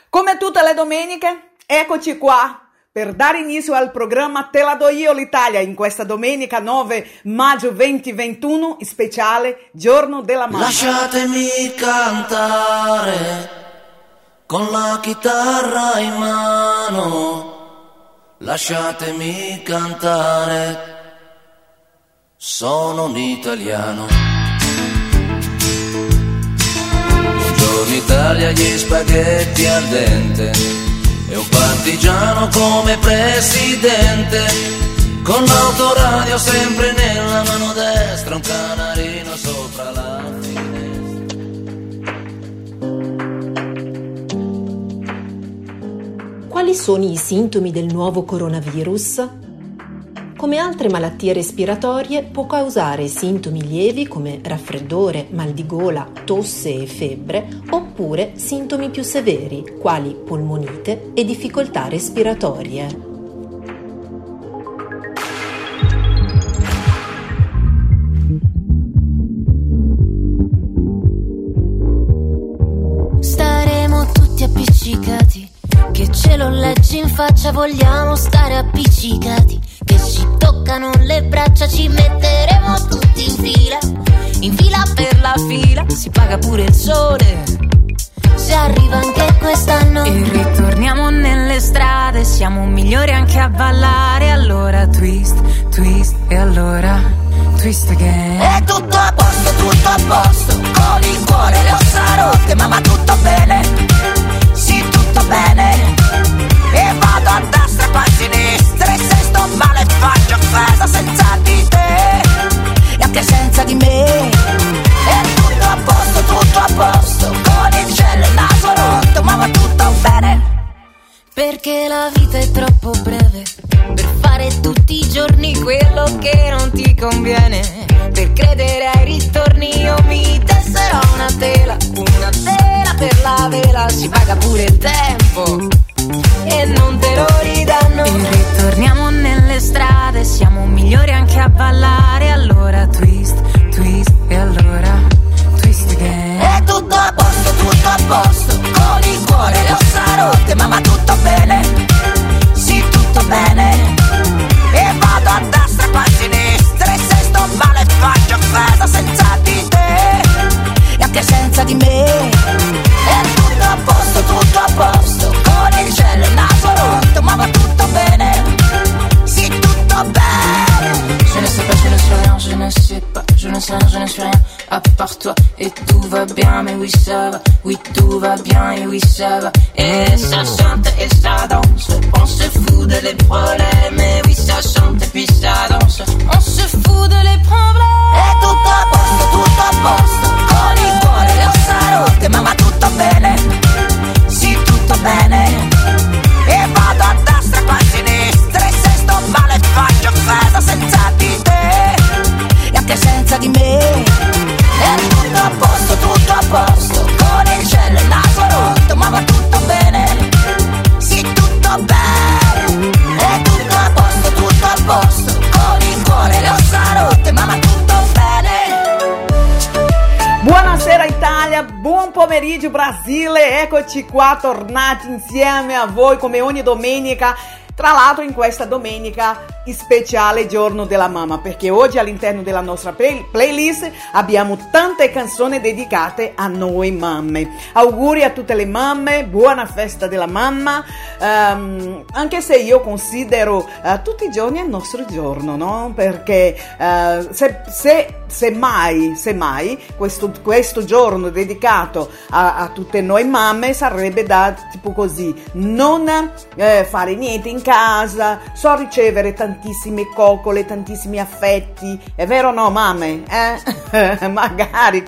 Come tutte le domeniche, eccoci qua per dare inizio al programma Te la do io l'Italia in questa domenica 9 maggio 2021, speciale Giorno della Mamma. Lasciatemi cantare con la chitarra in mano, lasciatemi cantare, sono un italiano. Buongiorno Italia, gli spaghetti al dente e un partigiano come presidente, con l'autoradio sempre nella mano destra, un canarino sopra la finestra. Quali sono i sintomi del nuovo coronavirus? Come altre malattie respiratorie, può causare sintomi lievi come raffreddore, mal di gola, tosse e febbre, oppure sintomi più severi, quali polmonite e difficoltà respiratorie. Staremo tutti appiccicati, che ce lo leggi in faccia, vogliamo stare appiccicati, che ci toccano le braccia, ci metteremo tutti in fila per la fila, si paga pure il sole, se arriva anche quest'anno. E ritorniamo nelle strade, siamo migliori anche a ballare, allora twist, twist e allora twist again. È tutto a posto, con il cuore le ossa rotte, mamma tutto bene, sì tutto bene. E vado a destra poi a sinistra, e se sto male faccio offesa senza di te e anche senza di me. È tutto a posto, con il cielo e il naso rotto, ma va tutto bene. Perché la vita è troppo breve per fare tutti i giorni quello che non ti conviene. Per credere ai ritorni io mi tesserò una tela per la vela, si paga pure il tempo e non te lo ridanno. E ritorniamo nelle strade, siamo migliori anche a ballare, allora twist, twist e allora twist again. È tutto a posto, con il cuore le ossa rotte, mamma tutto bene, sì tutto bene. E vado a destra poi a sinistra, e se sto male faccio offesa senza di te e anche senza di me. È tutto a posto, con il cielo e il naso rotto, ma va tutto bene, sì tutto bene. Je ne sais pas, je ne sais rien, je ne sais pas, je ne sais rien, je ne suis rien à part toi. Et tout va bien, mais oui ça va, oui tout va bien, et oui ça va. Et ça chante et ça danse, on se fout de les problèmes. Et oui ça chante et puis ça danse, on se fout de les problèmes. È tutto a posto, con il cuore le ossa rotte, ma va tutto bene, sì tutto bene. E vado a destra poi a sinistra, e se sto male faccio offesa senza di te e anche senza di me. È tutto a posto, con il cielo e il naso rotto, ma va tutto bene, sì tutto bene. È tutto a posto, con il cuore le ossa rotte, ma va tutto bene. Buonasera Italia, buon pomeriggio Brasile, eccoci qua tornati insieme a voi come ogni domenica. Tra l'altro in questa domenica speciale Giorno della Mamma, perché oggi all'interno della nostra playlist abbiamo tante canzoni dedicate a noi mamme. Auguri a tutte le mamme, buona festa della mamma, anche se io considero tutti i giorni il nostro giorno, no? Perché se mai questo giorno dedicato a tutte noi mamme sarebbe da tipo così, non fare niente in casa, so ricevere tantissime coccole, tantissimi affetti, è vero o no mamme? Magari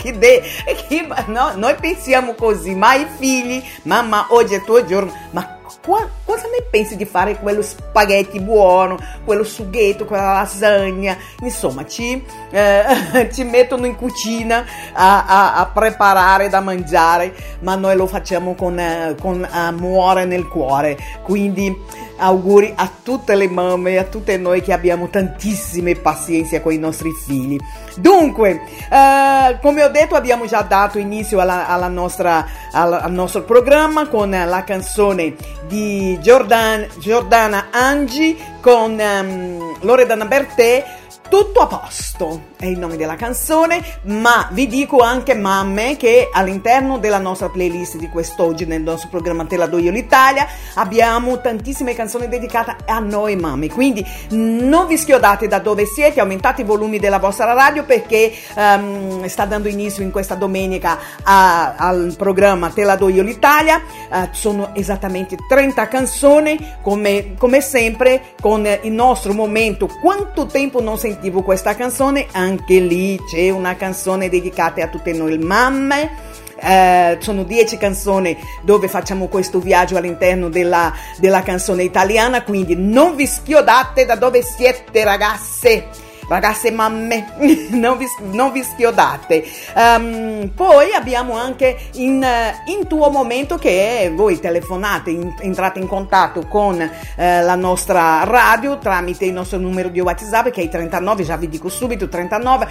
no, noi pensiamo così, ma i figli, mamma oggi è il tuo giorno, ma cosa ne pensi di fare quello spaghetti buono, quello sughetto, quella lasagna? Insomma, ci mettono in cucina a preparare da mangiare, ma noi lo facciamo con amore nel cuore. Quindi auguri a tutte le mamme, a tutte noi che abbiamo tantissime pazienza con i nostri figli. Dunque, come ho detto, abbiamo già dato inizio al nostro programma con la canzone di Giordana Angi con Loredana Bertè. Tutto a posto è il nome della canzone, ma vi dico anche, mamme, che all'interno della nostra playlist di quest'oggi, nel nostro programma Te la do io l'Italia, abbiamo tantissime canzoni dedicate a noi mamme, quindi non vi schiodate da dove siete, aumentate i volumi della vostra radio, perché sta dando inizio in questa domenica al programma Te la do io l'Italia. Sono esattamente 30 canzoni, come sempre, con il nostro momento Quanto tempo non sentivo questa canzone. Anche lì c'è una canzone dedicata a tutte noi mamme. Sono 10 canzoni dove facciamo questo viaggio all'interno della canzone italiana, quindi non vi schiodate da dove siete, ragazze mamme, non vi schiodate. Poi abbiamo anche in tuo momento, che voi telefonate, entrate in contatto con la nostra radio tramite il nostro numero di WhatsApp, che è il 39, già vi dico subito, 39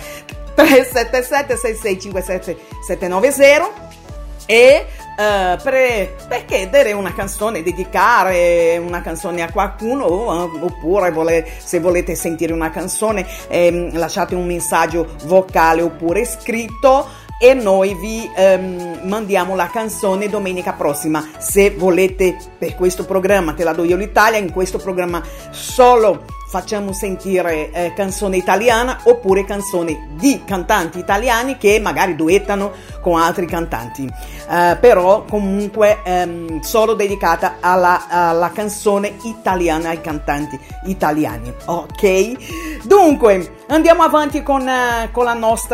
377 6657 790, e per chiedere una canzone, dedicare una canzone a qualcuno, oppure se volete sentire una canzone, lasciate un messaggio vocale oppure scritto e noi vi mandiamo la canzone domenica prossima. Se volete, per questo programma Te la do io l'Italia, in questo programma solo facciamo sentire canzone italiana oppure canzoni di cantanti italiani che magari duettano con altri cantanti, però comunque solo dedicata alla canzone italiana, ai cantanti italiani, ok? Dunque andiamo avanti con la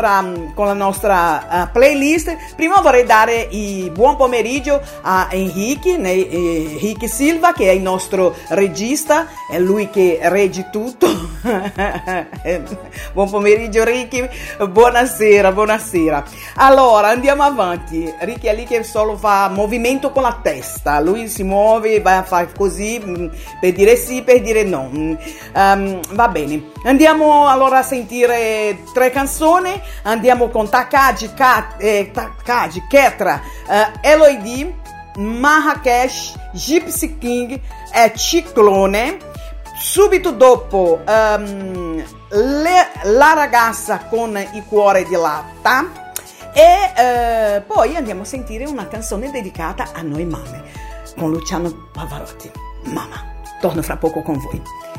nostra playlist. Prima vorrei dare il buon pomeriggio a Henrique Silva, che è il nostro regista, è lui che regge tutto. Buon pomeriggio Ricky, buonasera. Allora andiamo avanti. Ricky è lì che solo fa movimento con la testa, lui si muove, va a fare così per dire sì, per dire no. Va bene, andiamo allora a sentire 3 canzoni. Andiamo con Takagi, Ketra, Eloidi, Marrakesh, Gypsy King e Ciclone. Subito dopo la ragazza con il cuore di latta, e poi andiamo a sentire una canzone dedicata a noi mamme con Luciano Pavarotti. Mamma, torno fra poco con voi.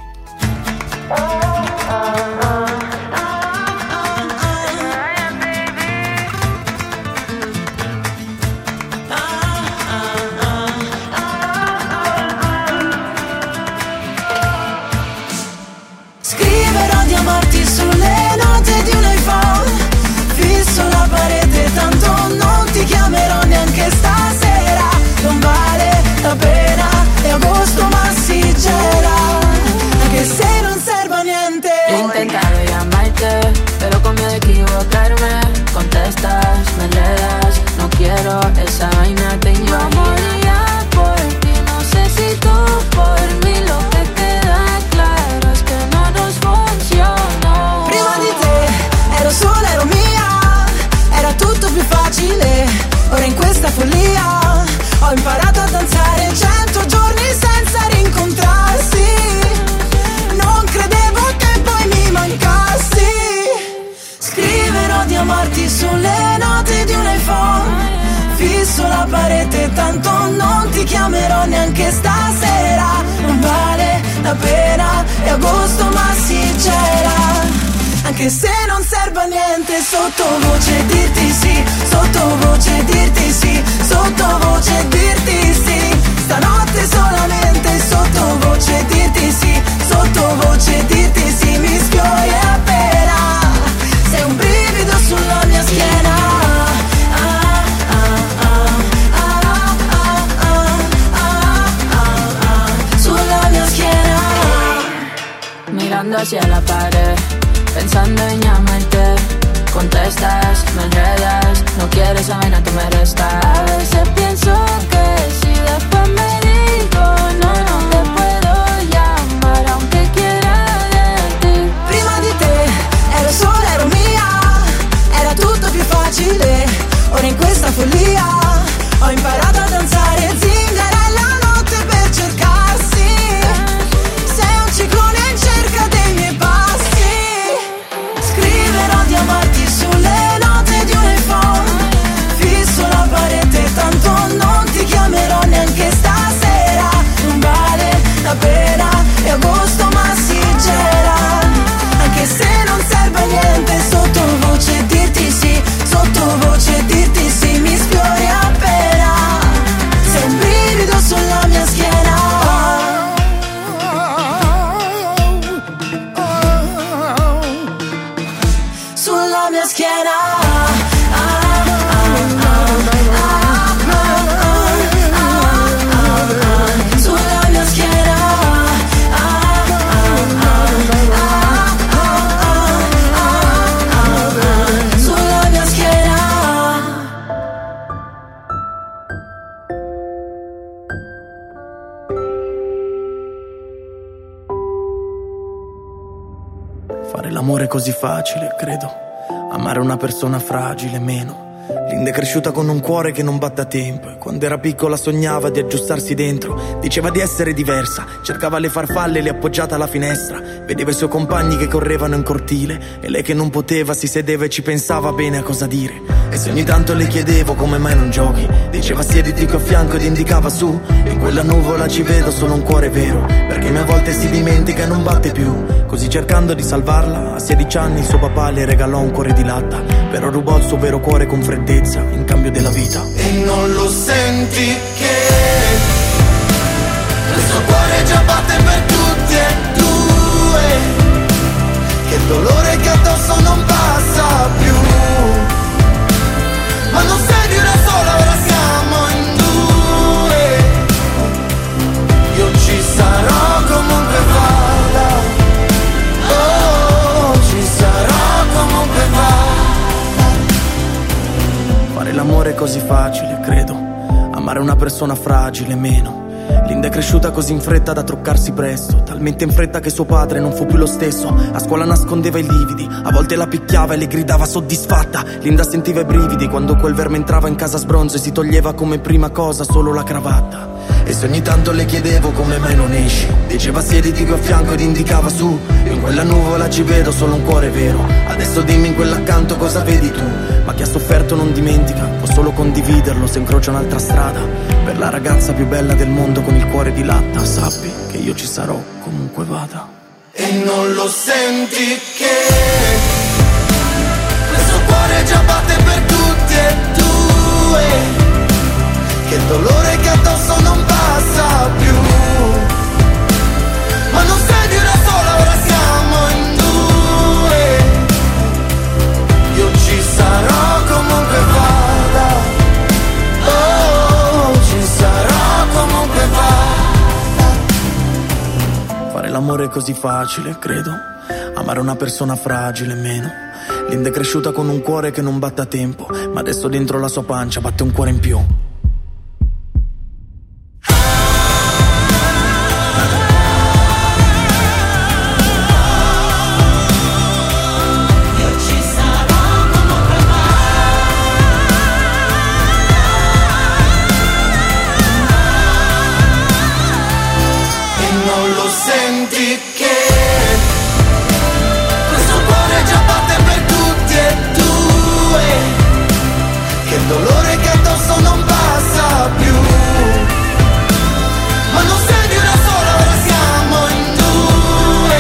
Sulle note di un iPhone, fisso la parete, tanto non ti chiamerò neanche stasera. Non vale la pena, è agosto ma si gela, anche se non serve a niente. He intentado llamarte, pero con miedo a equivocarme. Contestas, me enredas, no quiero esa vaina, te imaginas. Yo moría por ti, no sé si tú por mí. Lo que queda claro es que no nos funcionó. Prima di te ero sola, ero mia, era tutto più facile. Ora in questa follia ho imparato a danzare 100 giorni senza rincontrarsi. Non credevo che poi mi mancassi. Scriverò di amarti sulle note di un iPhone, fisso la parete, tanto non ti chiamerò neanche stasera. Non vale la pena, è agosto ma si gela, anche se non serve a niente. Sottovoce dirti sì, sottovoce dirti sì, sottovoce dirti sì. Stanotte solamente sottovoce dirti sì, sottovoce dirti sì. Mi sfiori appena, sei un brivido sulla mia schiena. hacia la pared, pensando en llamarte. Contestas, me enredas, no quieres esa vaina, tú me restas. A veces pienso que si después me digo no, no te puedo llamar aunque quiera de ti. Prima di te ero sola, ero mia, era tutto più facile. Ora in questa follia ho imparato a danzare zingara la notte per cercarsi. Sei un ciclone in cerca dei miei passi. Scriverò di amarti sulle note di un iPhone. Fisso la parete, tanto non ti chiamerò neanche stasera. Non vale la pena, è agosto ma si gela. Anche se non serve a niente, sottovoce dirti sì, sottovoce dirti sì, mi sfiori appena. Sei un brivido sulla mia schiena. Sulla mia schiena. Sulla mia schiena. Sulla mia schiena. Fare l'amore è così facile, credo. Amare una persona fragile, meno. Linda è cresciuta con un cuore che non batte a tempo e quando era piccola sognava di aggiustarsi dentro. Diceva di essere diversa, cercava le farfalle le appoggiate alla finestra. Vedeva i suoi compagni che correvano in cortile e lei che non poteva si sedeva e ci pensava bene a cosa dire. E se ogni tanto le chiedevo come mai non giochi, diceva siediti qui a fianco ed indicava su. In quella nuvola ci vedo solo un cuore vero, perché a volte si dimentica e non batte più. Così cercando di salvarla, a 16 anni suo papà le regalò un cuore di latta, però rubò il suo vero cuore con freddezza in cambio della vita. E non lo senti che il suo cuore già batte per tutti e due, che il dolore che addosso non passa più. Ma non sei di una sola, ora siamo in due. Io ci sarò comunque vada, oh, ci sarò comunque vada. Fare l'amore è così facile, credo. Amare una persona fragile, meno. Linda è cresciuta così in fretta da truccarsi presto, talmente in fretta che suo padre non fu più lo stesso. A scuola nascondeva i lividi, a volte la picchiava e le gridava soddisfatta. Linda sentiva i brividi quando quel verme entrava in casa sbronzo e si toglieva come prima cosa solo la cravatta. E se ogni tanto le chiedevo come mai non esci, diceva siediti qui a fianco ed indicava su. In quella nuvola ci vedo solo un cuore vero, adesso dimmi in quell'accanto cosa vedi tu. Ma chi ha sofferto non dimentica, può solo condividerlo se incrocia un'altra strada. Per la ragazza più bella del mondo con il cuore di latta, sappi che io ci sarò comunque vada. E non lo senti che il suo cuore già batte per tutti e due, che il dolore che addosso non passa più. Ma non sei di una sola, ora siamo in due. Io ci sarò comunque vada, oh, ci sarò comunque vada. Fare l'amore è così facile, credo. Amare una persona fragile, meno. Linda è cresciuta con un cuore che non batte a tempo, ma adesso dentro la sua pancia batte un cuore in più. Senti che questo cuore già batte per tutti e due, che il dolore che addosso non passa più. Ma non sei di una sola, ora siamo in due.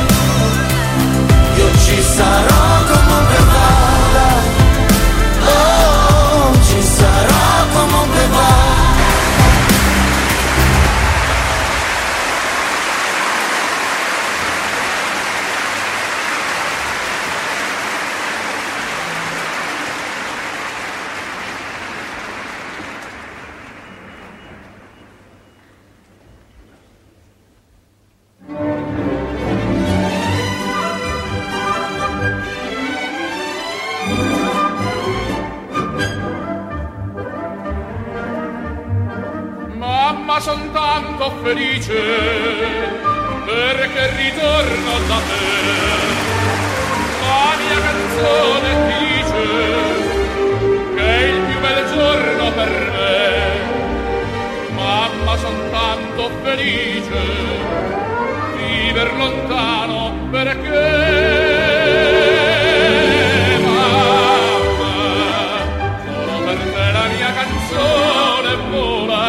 Io ci sarò comunque vada, oh, ci sarò comunque vada. Mamma, son tanto felice perché ritorno da te. La mia canzone ti dice che è il più bel giorno per me. Mamma, son tanto felice viver lontano perché mamma, solo per te la mia canzone vola.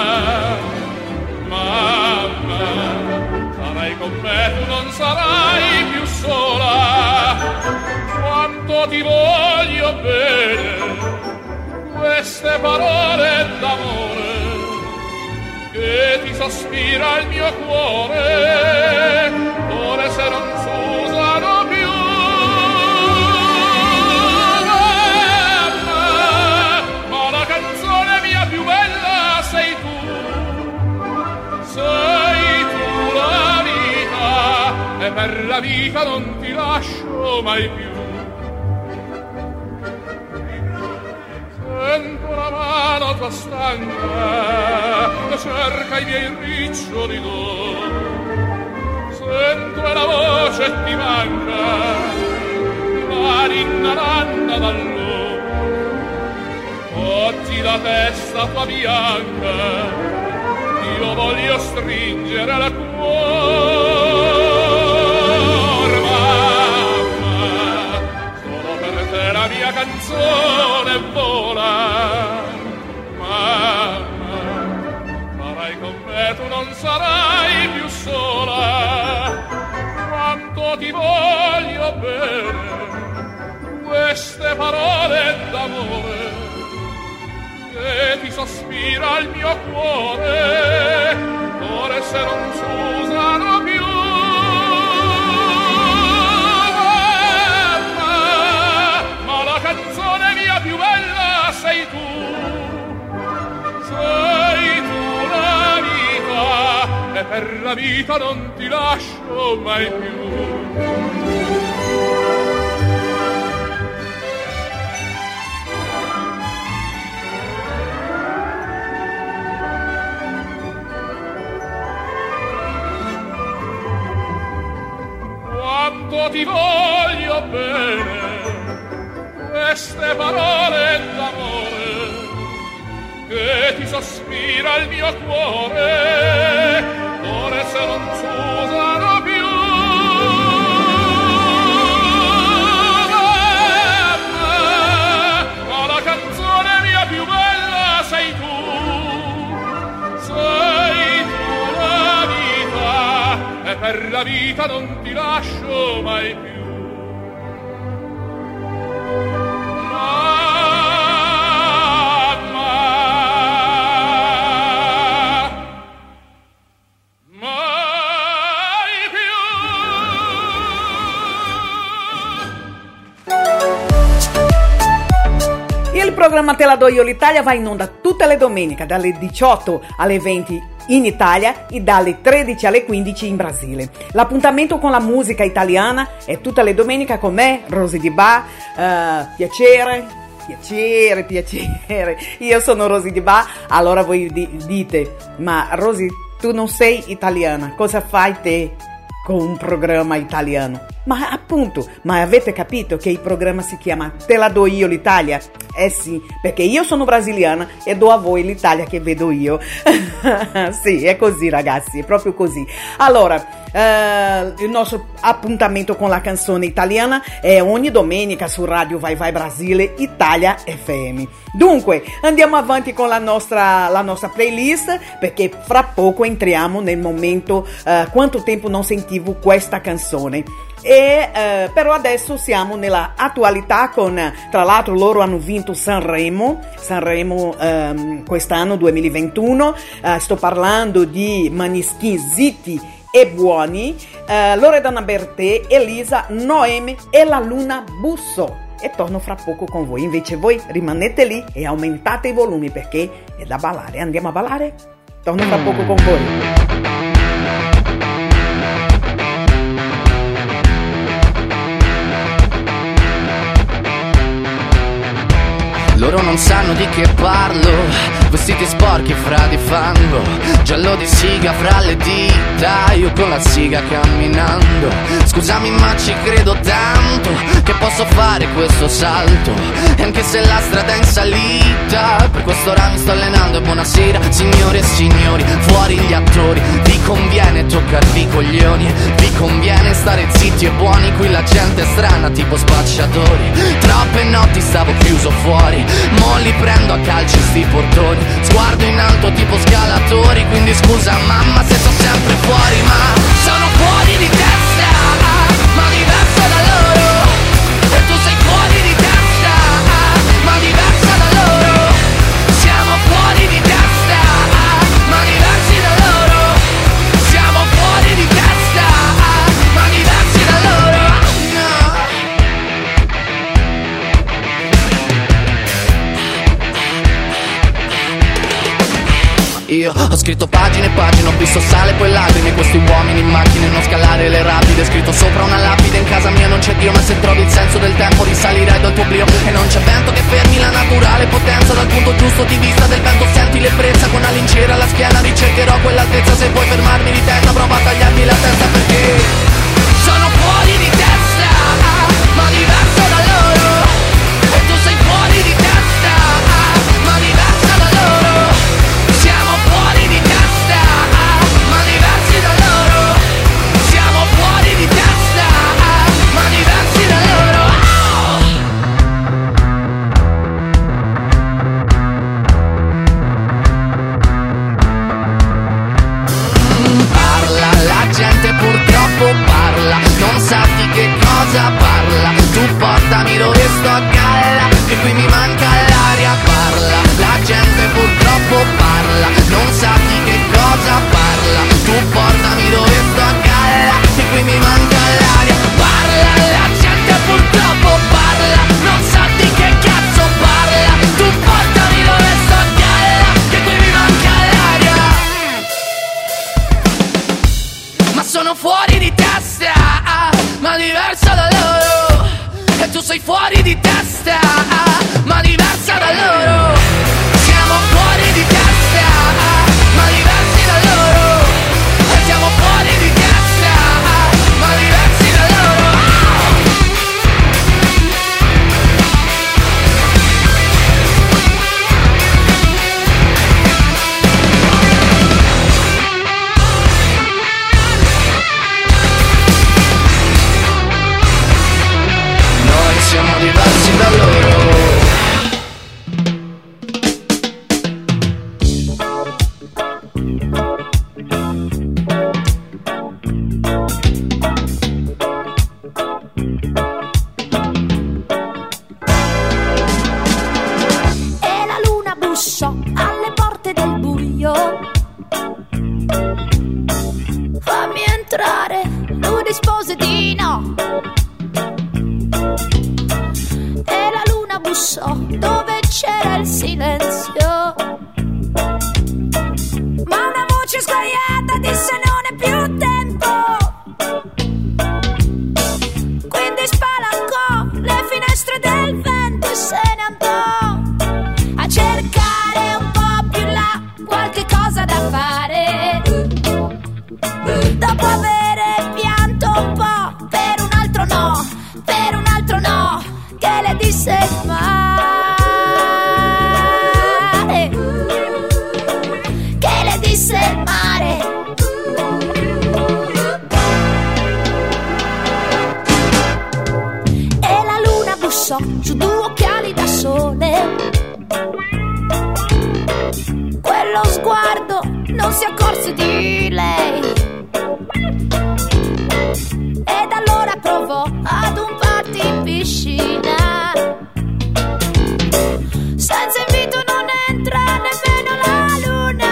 Mamma, sarai con me, tu non sarai più sola. Quanto ti voglio bene, queste parole d'amore che ti sospira il mio cuore, ore se non s'usano più. Ma la canzone mia più bella sei tu la vita, e per la vita non ti lascio mai più. Sento la mano tua stanca, cerca i miei riccioli d'oro. Sento la voce ti manca, la ninna dall'oro. Oggi la testa tua bianca io voglio stringere al cuore. Mamma, solo per te la mia canzone vola. Mamma, sarai con me, tu non sarai più sola. Quanto ti voglio bene, queste parole d'amore che ti sospira il mio cuore, ore se non s'usano più. Ma la canzone mia più bella sei tu la vita, e per la vita non ti lascio mai più. Quanto ti voglio bene, queste parole d'amore che ti sospira il mio cuore, ore se non s'usano più. Ma la canzone mia più bella sei tu la vita, e per la vita non ti lascio mai più. Il programma Te la do io l'Italia va in onda tutte le domeniche dalle 18 alle 20 in Italia e dalle 13 alle 15 in Brasile. L'appuntamento con la musica italiana è tutte le domeniche con me, Rosy Di Ba. Piacere. Io sono Rosy Di Ba. Allora voi dite, ma Rosy, tu non sei italiana, cosa fai te con un programma italiano? Ma appunto, ma avete capito che il programma si chiama Te la do io l'Italia? Eh sì, perché io sono brasiliana e do a voi l'Italia che vedo io. Sì, è così ragazzi, è proprio così. Allora, il nostro appuntamento con la canzone italiana è ogni domenica su Radio Vai Vai Brasile Italia FM. Dunque, andiamo avanti con la nostra playlist, perché fra poco entriamo nel momento quanto tempo non sentivo questa canzone. Però adesso siamo nella attualità con, tra l'altro loro hanno vinto Sanremo quest'anno 2021, sto parlando di Maneskin, Zitti e Buoni, Loredana Bertè, Elisa, Noemi e la Luna Bussò. E torno fra poco con voi, invece voi rimanete lì e aumentate i volumi perché è da ballare. Andiamo a ballare? Torno fra poco con voi. Loro non sanno di che parlo, vestiti sporchi fra di fango, giallo di siga fra le dita, io con la siga camminando. Scusami ma ci credo tanto che posso fare questo salto, e anche se la strada è in salita, per quest'ora mi sto allenando. E buonasera signore e signori, fuori gli attori, vi conviene toccarvi i coglioni, vi conviene stare zitti e buoni, qui la gente è strana tipo spacciatori. Troppe notti stavo chiuso fuori, mo li prendo a calci sti portoni, sguardo in alto tipo scalatori, quindi scusa mamma se sto sempre fuori, ma sono fuori di testa, ma diverso da loro, e tu sei fuori di testa, ma diversa da loro, siamo fuori di testa, ma diversi da loro, siamo fuori di testa, ma diversi da loro, no. Io ho scritto pagine e pagine, ho visto sale poi lacrime, questi uomini in macchine, non scalare le rapide, scritto sopra una lapide, in casa mia non c'è Dio, ma se trovi il senso del tempo risalirai dal tuo oblio, e non c'è vento che fermi la naturale potenza, dal punto giusto di vista del vento senti l'ebbrezza, con una lincera alla schiena ricercherò quell'altezza, se vuoi fermarmi di testa prova a tagliarmi la testa, perché sono fuori di testa, ma diverso da loro, e tu sei fuori di testa, ma diversa da loro, siamo fuori di testa, ma diversi da loro, siamo fuori di testa, ma diversi da loro. Parla, la gente purtroppo parla, non sa di che cosa parla, tu portami dove sto a galla, che qui mi manca l'aria, parla, la gente purtroppo parla, non sa di che cosa parla, tu portami dove sto a galla, che qui mi manca l'aria, parla, la gente purtroppo parla, non sa di che cazzo parla, tu portami dove sto a galla, che qui mi manca l'aria, ma sono fuori di testa, ma diversa da loro, e tu sei fuori di testa, ma diversa da loro, siamo fuori di testa, ma diversi da loro, e siamo fuori di testa, ma diversi da loro. Noi siamo diversi da loro. E la luna bussò alle porte del buio. Fammi entrare, lui rispose di no. E la luna bussò dove c'era il silenzio, ma una voce sguaiata disse non è più tempo. Quindi spalancò le finestre del vento e se ne andò a cercare un po' più là qualche cosa da fare. Dopo avere pianto un po' per un altro no, per un altro no, che le disse il mare, che le disse il mare. E la luna bussò su due occhiali da sole, quello sguardo non si accorse di lei, ed allora provò ad un party in piscina, senza invito non entra nemmeno la luna,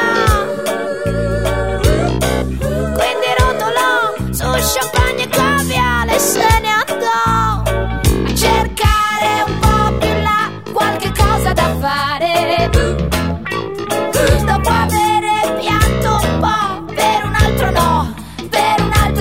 quindi rotolò su champagne e caviale e se ne andò a cercare un po' più là qualche cosa da fare. Dopo avere pianto un po' per un altro no, per un altro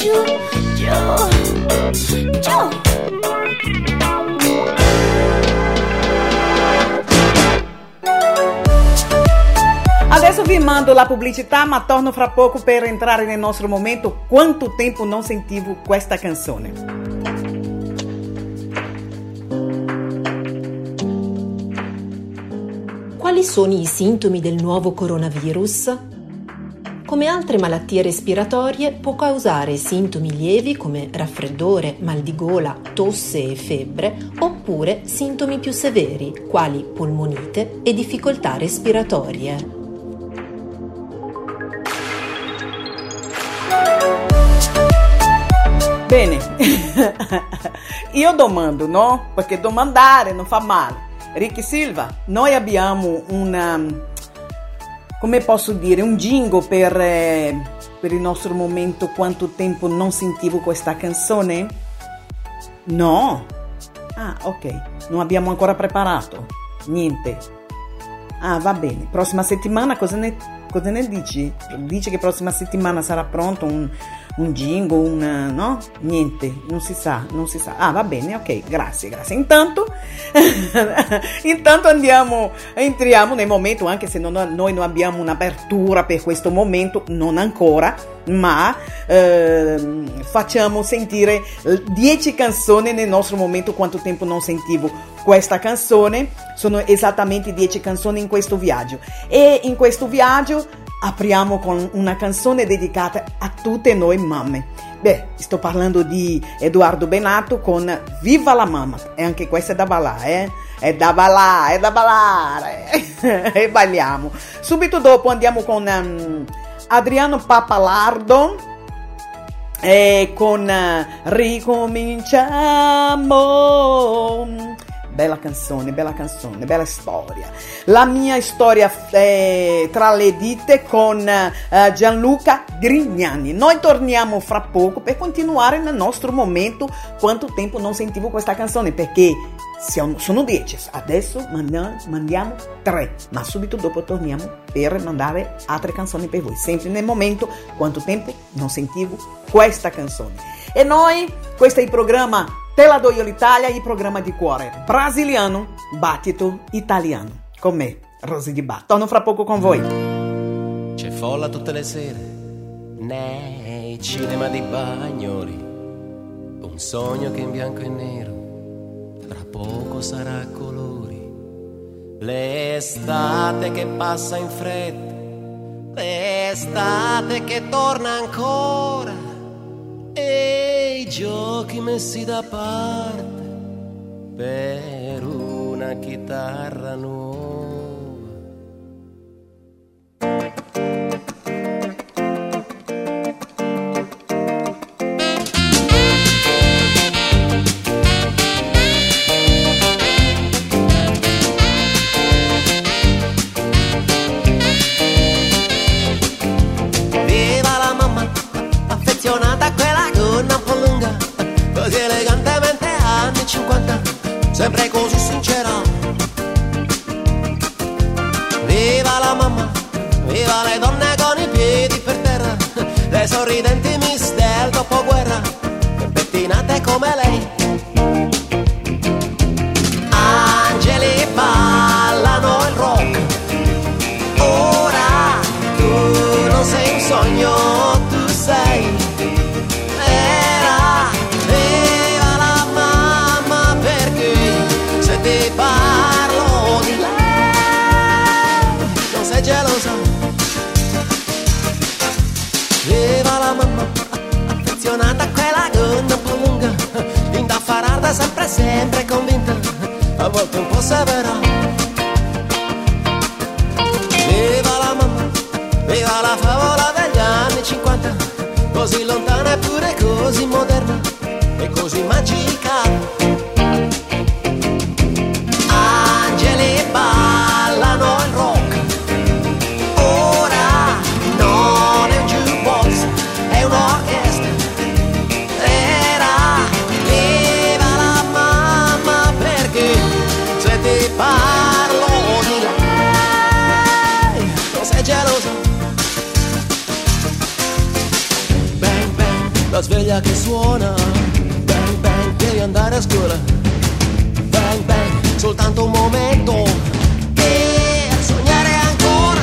giù, giù, giù. Adesso vi mando la pubblicità, ma torno fra poco per entrare nel nostro momento. Quanto tempo non sentivo questa canzone. Quali sono i sintomi del nuovo coronavirus? Come altre malattie respiratorie, può causare sintomi lievi come raffreddore, mal di gola, tosse e febbre, oppure sintomi più severi, quali polmonite e difficoltà respiratorie. Bene, io domando, no? Perché domandare non fa male. Ricky Silva, noi abbiamo come posso dire, un jingle per il nostro momento. Quanto tempo non sentivo questa canzone? No? Ah, ok, non abbiamo ancora preparato. Niente. Ah, va bene. Prossima settimana cosa ne dici? Dici che prossima settimana sarà pronto un jingle, no? Niente, non si sa. Ah, va bene, ok, grazie. Intanto entriamo nel momento, anche se noi non abbiamo un'apertura per questo momento, non ancora, ma facciamo sentire 10 canzoni nel nostro momento. Quanto tempo non sentivo questa canzone. Sono esattamente 10 canzoni in questo viaggio, e in questo viaggio apriamo con una canzone dedicata a tutte noi mamme. Beh, sto parlando di Edoardo Bennato con Viva la mamma, e anche questa è da ballare, è da ballare e balliamo. Subito dopo andiamo con Adriano Pappalardo e con Ricominciamo. Bella canzone, bella storia. La mia storia tra le dita con Gianluca Grignani. Noi torniamo fra poco per continuare nel nostro momento. Quanto tempo non sentivo questa canzone, perché sono 10. Adesso mandiamo 3, ma subito dopo torniamo per mandare altre canzoni per voi. Sempre nel momento quanto tempo non sentivo questa canzone. E noi, questo è il programma Te la do io l'Italia, il programma di cuore brasiliano, battito italiano. Con me, Rosy Di Bar. Torno fra poco con voi. C'è folla tutte le sere nei cinema di Bagnoli, un sogno che in bianco e nero tra poco sarà a colori. L'estate che passa in fretta, l'estate che torna ancora, e i giochi messi da parte per una chitarra nuova. Viva la mamma, affezionata a quella gonna un po' lunga, così elegantemente anni 50, sempre così sincera. Viva la mamma, viva le donne con i piedi per terra, le sorridenti miss del dopoguerra, che pettinate come lei. Angeli ballano il rock, ora tu non sei un sogno, tu sei vera. Viva la mamma, perché se ti parlo di lei non sei gelosa. Viva la mamma, affezionata a quella gonna un po' lunga, indaffarata, sempre convinta, a volte un po' severa. Viva la mamma, viva la favola degli anni 50, così lontana eppure così moderna e così magica. Angeli ballano il rock, ora non è un jukebox, è un'orchestra. Era viva la mamma, perché se ti parlo di lei non sei gelosa. la sveglia che suona. Bang bang, devi andare a scuola. Bang bang, soltanto un momento e sognare ancora.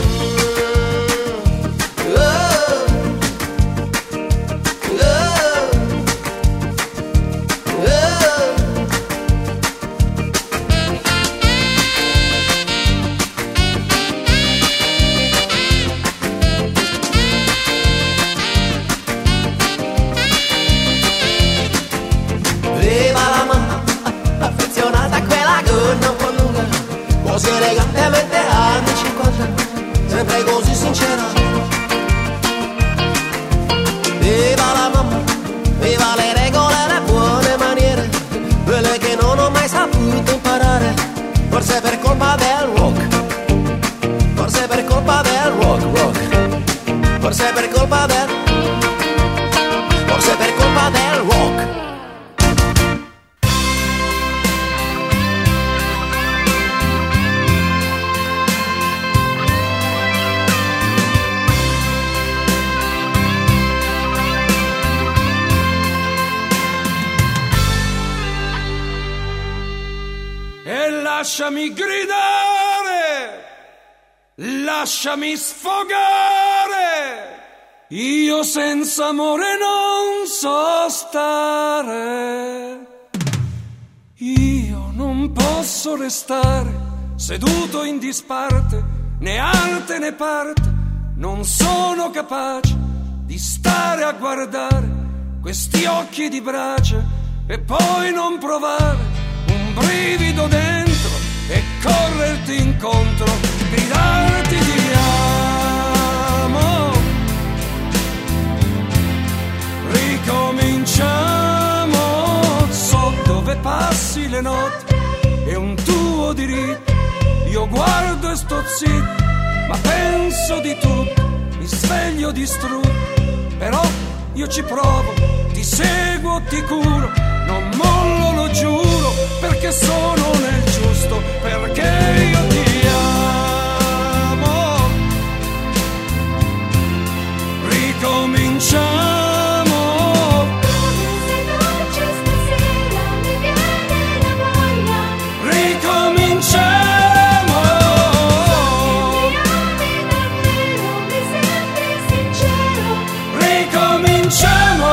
Così elegantemente anni 50, sempre così sincera. Viva la mamma, viva le regole e le buone maniere, quelle che non ho mai saputo imparare. Forse per colpa del rock, forse per colpa del rock, forse per colpa del, forse per colpa del rock. Lasciami gridare, lasciami sfogare, io senza amore non so stare. Io non posso restare seduto in disparte, né arte né parte, non sono capace di stare a guardare questi occhi di brace e poi non provare un brivido dentro e correrti incontro, gridarti ti amo. Ricominciamo, so dove passi le notti, è un tuo diritto, io guardo e sto zitto, ma penso di tutto, mi sveglio distrutto, però io ci provo, ti seguo, ti curo, non mollo, lo giuro, perché sono nel giusto, perché io ti amo. Ricominciamo. Ricominciamo. Ricominciamo.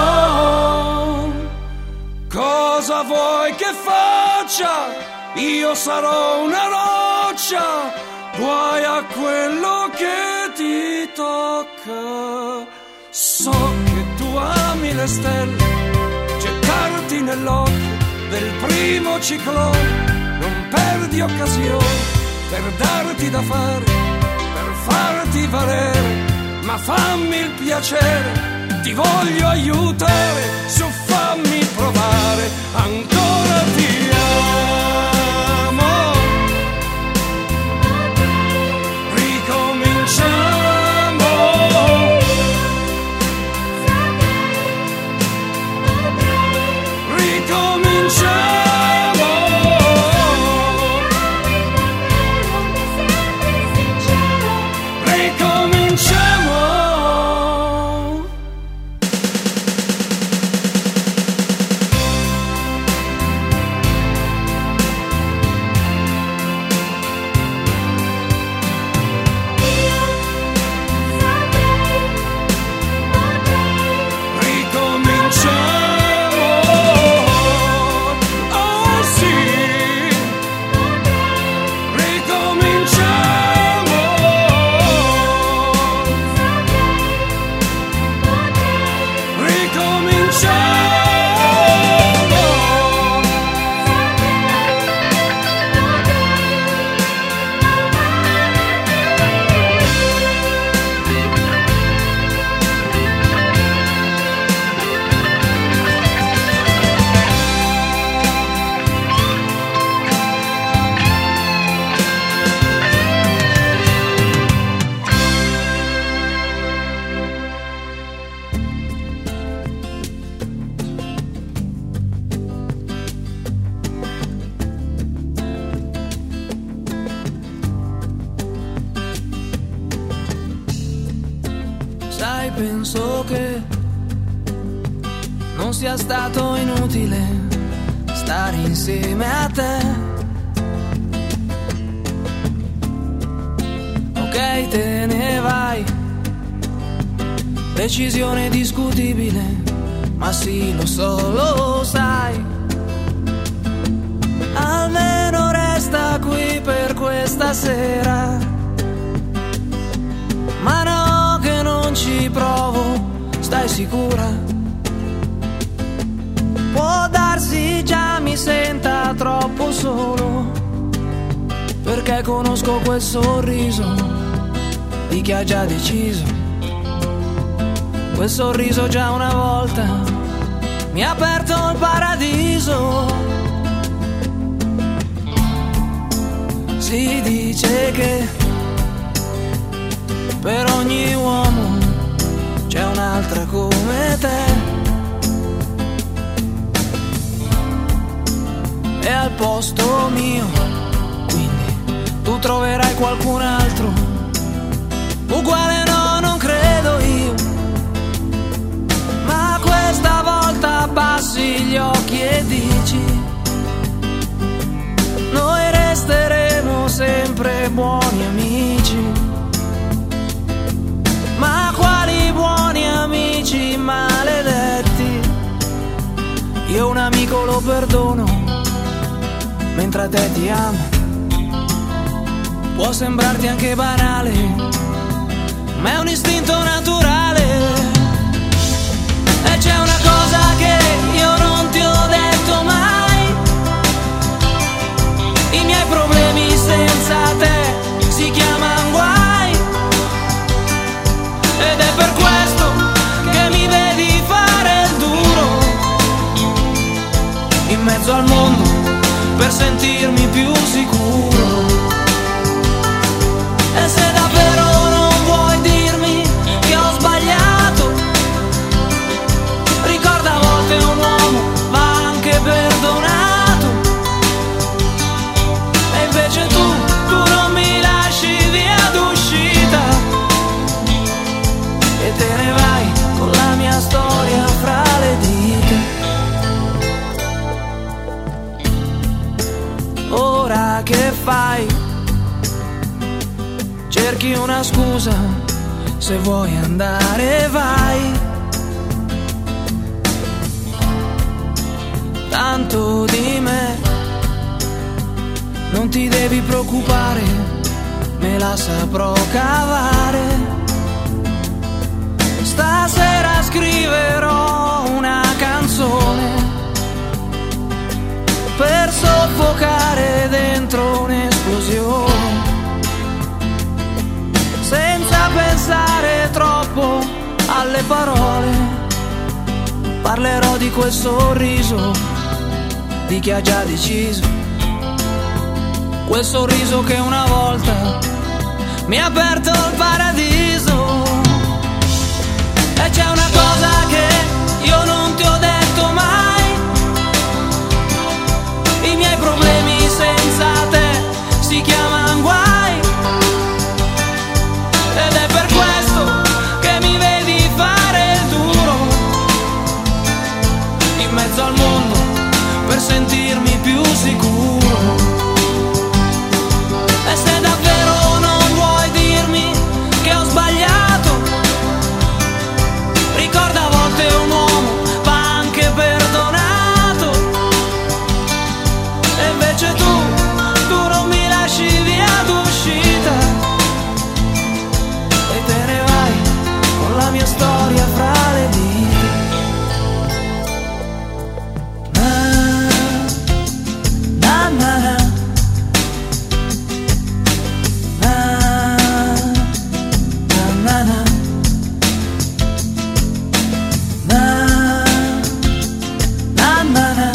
Cosa vuoi che faccia? Io sarò una roccia, guai a quello che ti tocca. So che tu ami le stelle, gettarti nell'occhio del primo ciclone, non perdi occasione per darti da fare, per farti valere, ma fammi il piacere, ti voglio aiutare, su fammi provare, ancora ti amo. Ricominciamo. Ricominciamo. Ricominciamo. Sai, penso che non sia stato inutile stare insieme a te. Ok, te ne vai, decisione discutibile, ma sì, lo so, lo sai. Almeno resta qui per questa sera. Ma no, che non ci provo, stai sicura? Può darsi già mi senta troppo solo, perché conosco quel sorriso di chi ha già deciso. Quel sorriso già una volta mi ha aperto il paradiso. Si dice che per ogni uomo c'è un'altra come te, e al posto mio quindi tu troverai qualcun altro uguale. No, non credo io, ma questa volta abbassi gli occhi e dici: noi resteremo sempre buoni amici. Ma quali buoni amici maledetti? Io un amico lo perdono, mentre a te ti amo. Può sembrarti anche banale, ma è un istinto naturale. E c'è una cosa che io non ti ho detto mai: i miei problemi senza te si chiamano guai. Ed è per questo che mi vedi fare il duro in mezzo al mondo, per sentirmi più sicuro. E se davvero non vuoi dirmi che ho sbagliato, ricorda, a volte un uomo va anche perdonato. E invece tu non mi lasci via d'uscita e te ne vai con la mia storia fra le dita. Ora che fai? Cerchi una scusa, se vuoi andare vai. Tanto di me non ti devi preoccupare, me la saprò cavare. Stasera scriverò una canzone per soffocare dentro un'esplosione, senza pensare troppo alle parole. Parlerò di quel sorriso di chi ha già deciso, quel sorriso che una volta mi ha aperto il paradiso. E c'è una cosa che io non ti ho detto mai: i miei problemi senza te si chiamano guai. Ed è per questo che mi vedi fare il duro in mezzo al mondo, per sentirmi più sicuro. E se davvero non vuoi dirmi che ho sbagliato, ricorda, a volte un uomo va anche perdonato. E invece tu non mi lasci via d'uscita e te ne vai con la mia storia fra le dita. Na, na, na, na, na, na, na, na, na.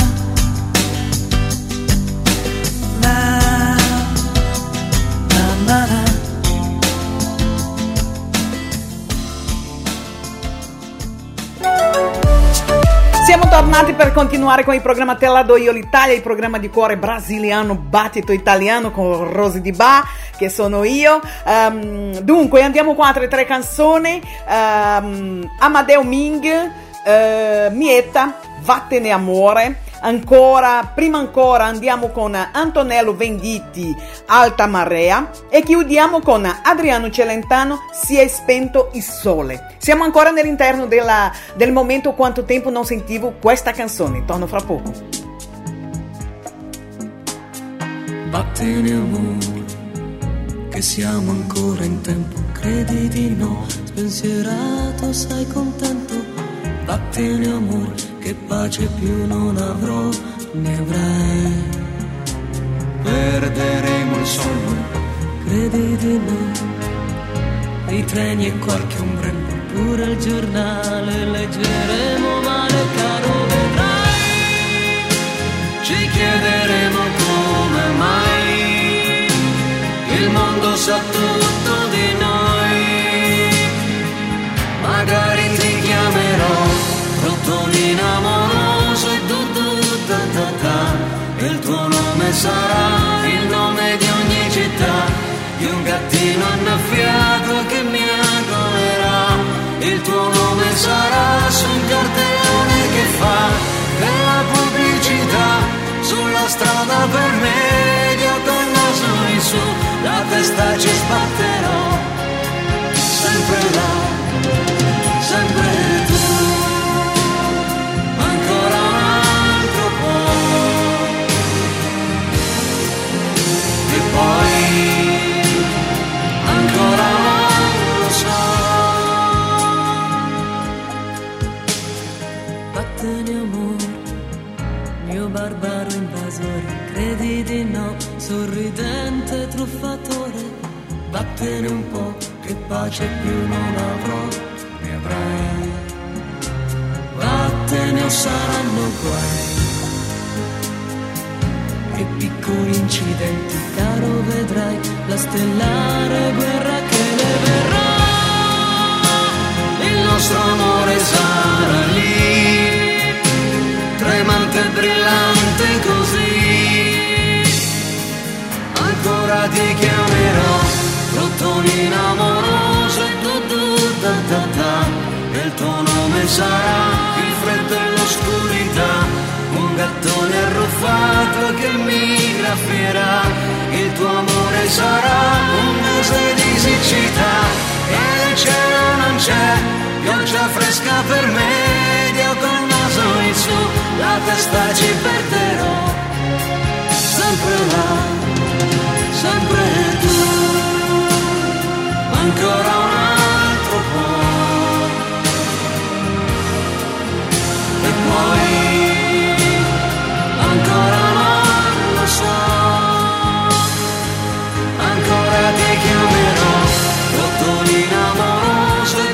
Siamo tornati per continuare con il programma Te la do io l'Italia, il programma di cuore brasiliano, battito italiano con Rosy Di Ba, che sono io. Dunque andiamo qua tra tre canzoni. Amadeu Ming, Mietta, Vattene amore. Prima ancora andiamo con Antonello Venditti, Alta Marea, e chiudiamo con Adriano Celentano, Si è spento il sole. Siamo ancora all'interno del momento quanto tempo non sentivo questa canzone. Torno fra poco. Vattene amore, che siamo ancora in tempo, credi di no, spensierato sei contento. Vattene amore, che pace più non avrò, ne avrai. Perderemo il sonno, credi di no, i treni e qualche ombrello, pure il giornale leggeremo male, caro vedrai. Ci chiederemo come mai il mondo sa tutto di noi. Magari ti chiamerò Rotolino amoroso e il tuo nome sarà il nome di ogni città, di un gattino annaffiato che mi agolerà. Il tuo nome sarà su un cartellone che fa della pubblicità, sulla strada per medio col naso in su, la testa ci sbatterò, sempre là, sempre tu. Poi ancora non lo so. Vattene amore, mio barbaro invasore, credi di no, sorridente truffatore. Vattene un po', che pace più non avrò, ne avrai. Vattene o saranno guai e piccoli incidenti, caro vedrai la stellare guerra che ne verrà. Il nostro amore sarà lì, tremante e brillante così. Ancora ti chiamerò Rotolino amoroso e il tuo nome sarà il freddo e l'oscurità, un gattone arruffato che mi graffierà. Il tuo amore sarà un mese di siccità e il cielo non c'è, pioggia fresca per me, io col naso in su, la testa ci perderò, sempre là, sempre tu, ancora un altro po', e poi ancora non lo so, ancora ti chiamerò Rotolino amoroso e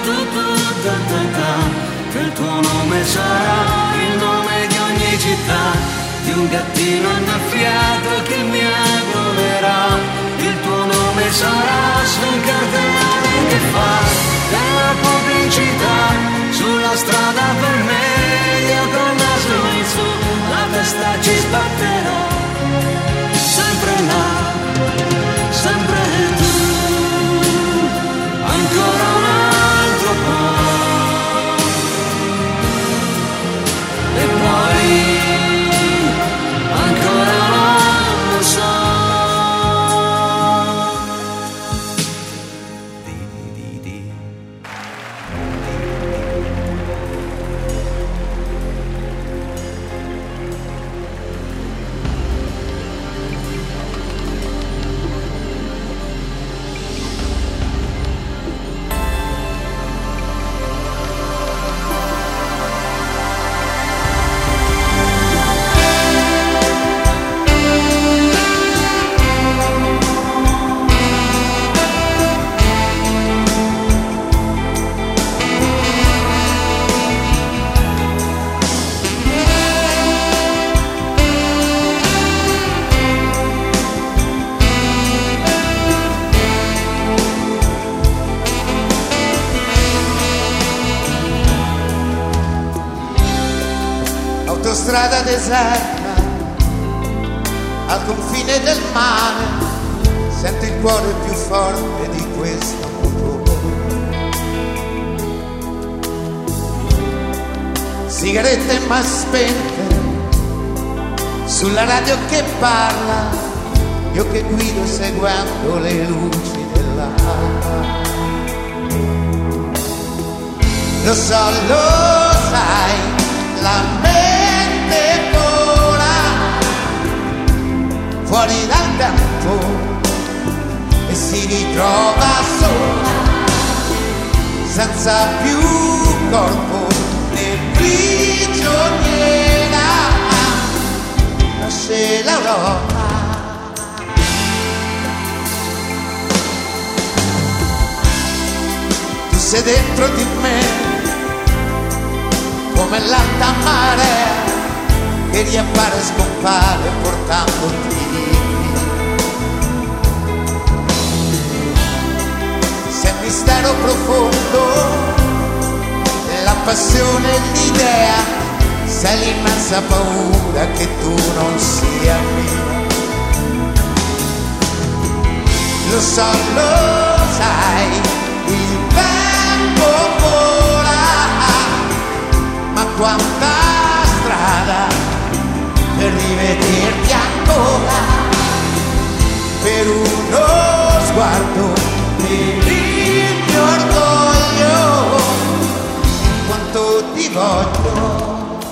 che il tuo nome sarà il nome di ogni città, di un gattino annaffiato che mi agolerà. Il tuo nome sarà su un cartellone che fa della pubblicità, sulla strada per me, io col naso in su, la testa ci sbatterò, sempre là, sempre tu, ancora un altro po', e poi ancora non lo so. Autostrada deserta al confine del mare, sento il cuore più forte di questo motore. sigarette mai spente, sulla radio che parla, io che guido seguendo le luci dell'alba. Lo so, lo sai, la mente vola fuori dal tempo e si ritrova sola, senza più corpo né prigioniera. Nasce l'Europa, tu sei dentro di me come l'alta marea che riappare e scompare portandoti via. Sei mistero profondo, la passione e l'idea, sei l'immensa paura che tu non sia mia. Lo so, lo sai, il tempo vola, ma quanta strada per rivederti ancora, per uno sguardo, per il mio orgoglio, quanto ti voglio.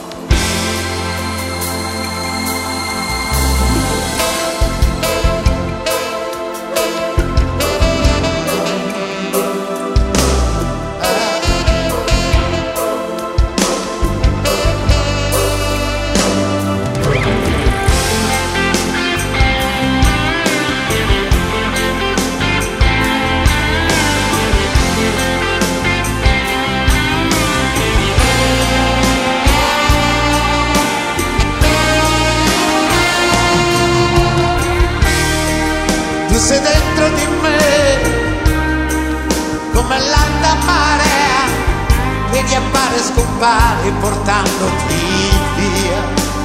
Tu sei dentro di me come l'alta marea che riappare e scompare portandoti via.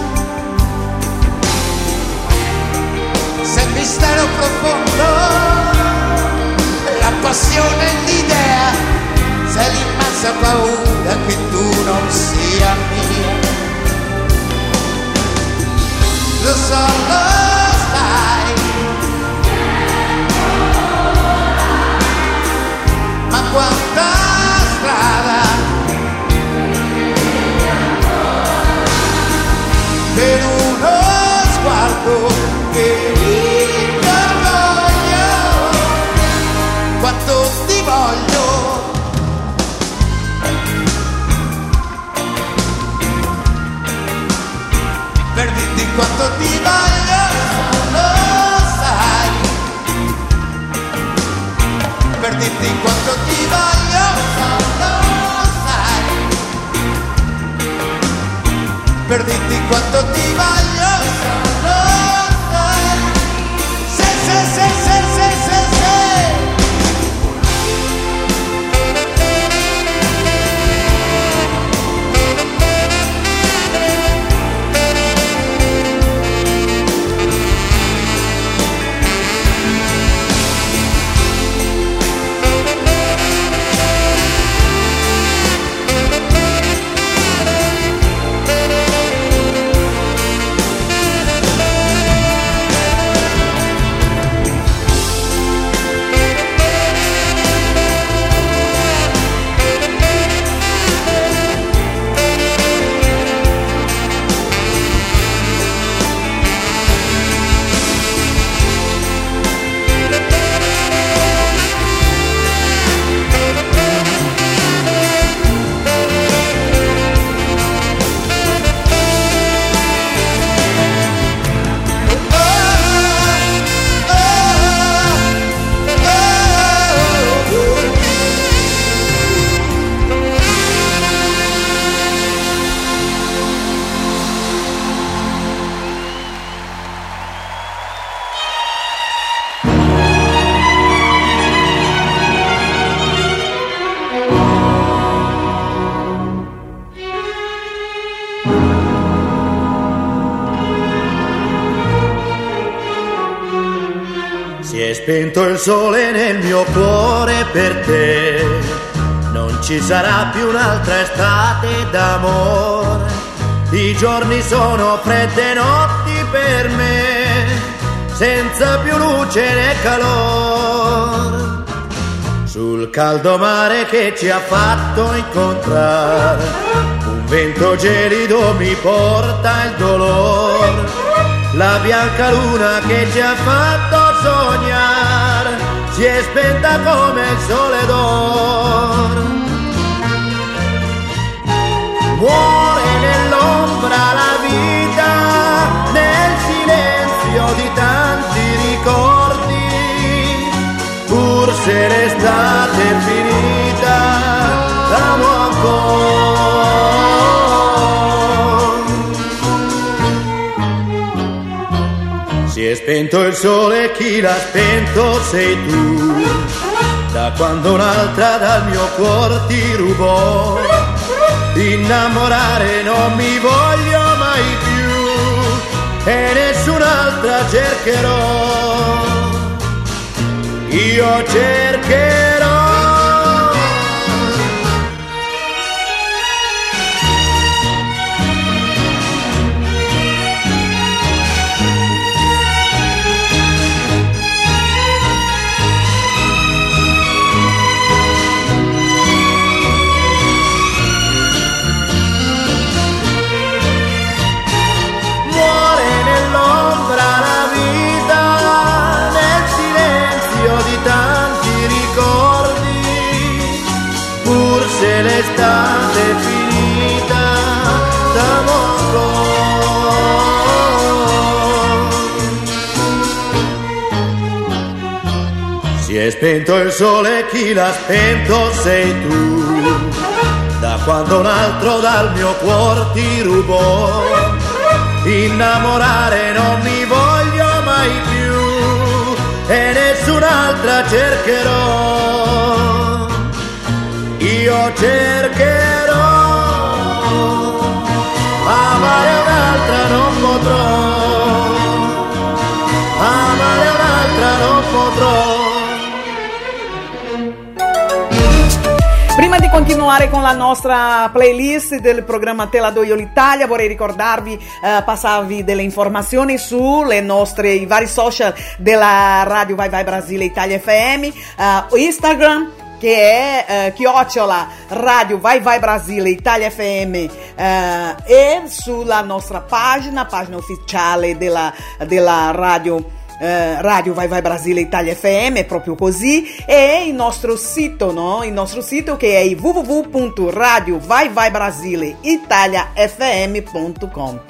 Sei il mistero profondo, la passione e l'idea, sei l'immensa paura che tu non sia mia. Lo so, lo sai, ma quanta strada per uno sguardo, per il mio orgoglio, quanto ti voglio. Per dirti quanto ti voglio, lo sai, per dirti quanto ti voglio, lo sai, per dirti quanto ti voglio, lo sai, se, se, se, se, se, se, se. Si è spento il sole nel mio cuore per te, non ci sarà più un'altra estate d'amore. I giorni sono fredde notti per me, senza più luce né calore. Sul caldo mare che ci ha fatto incontrare, un vento gelido mi porta il dolore. La bianca luna che ci ha fatto sognare si è spenta come il sole d'oro. Muore nell'ombra la vita, nel silenzio di tanti ricordi. Pur se l'estate è finita, l'amo ancora. Si è spento il sole, chi l'ha spento sei tu. Da quando un'altra dal mio cuore ti rubò, innamorare non mi voglio mai più e nessun'altra cercherò. Io cercherò. Se l'estate è finita, siamo ancora. Si è spento il sole, chi l'ha spento sei tu. Da quando un altro dal mio cuore ti rubò, innamorare non mi voglio mai più e nessun'altra cercherò. Io cercherò, amare un'altra non potrò, amare un'altra non potrò. Prima di continuare con la nostra playlist del programma Te la do io l'Italia, vorrei ricordarvi, passarvi delle informazioni sulle nostre, i vari social della Radio Vai Vai Brasile Italia FM, Instagram, che è chiocciola Radio Vai Vai Brasile Italia FM, e sulla nostra pagina ufficiale della radio Radio Vai Vai Brasile Italia FM, è proprio così, e il nostro sito, no? Il nostro sito che è www.radiovaivaibrasileitaliafm.com,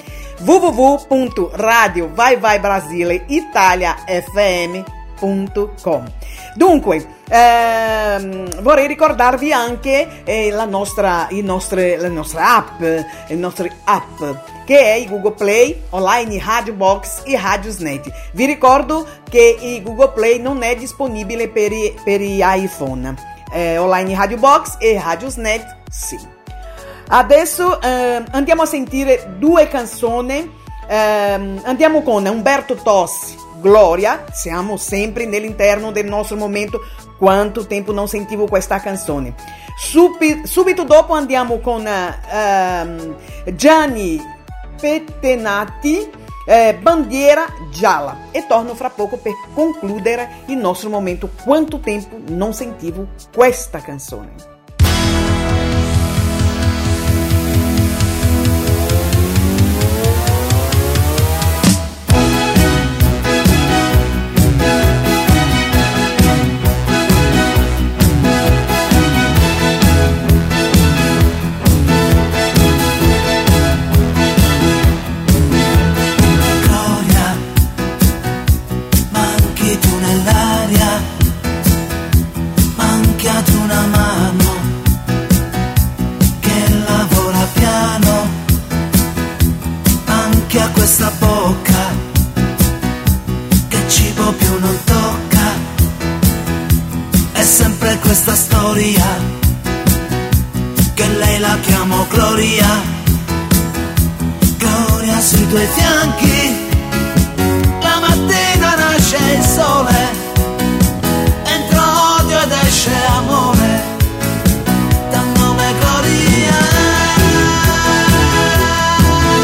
www.radiovaivaibrasileitaliafm.com. Dunque, vorrei ricordarvi anche la nostra app, le nostre app, che è il Google Play, online Radio Box e Radiosnet. Vi ricordo che il Google Play non è disponibile per gli iPhone, online Radio Box e Radiosnet sì. Adesso andiamo a sentire due canzoni, andiamo con Umberto Tozzi, Gloria. Siamo sempre nell'interno del nostro momento. Quanto tempo non sentivo questa canzone. Subito dopo andiamo con Gianni Pettenati, Bandiera Gialla, e torno fra poco per concludere il nostro momento. Quanto tempo non sentivo questa canzone. Questa bocca che cibo più non tocca, è sempre questa storia che lei la chiamo Gloria. Gloria sui tuoi fianchi, la mattina nasce il sole, entra odio ed esce amore, dal nome Gloria.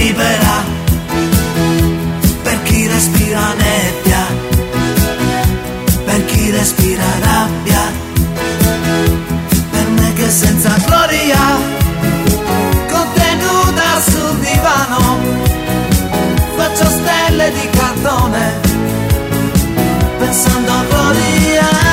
libera per chi respira nebbia, per chi respira rabbia, per me che senza gloria, contenuta sul divano, faccio stelle di cartone, pensando a gloria.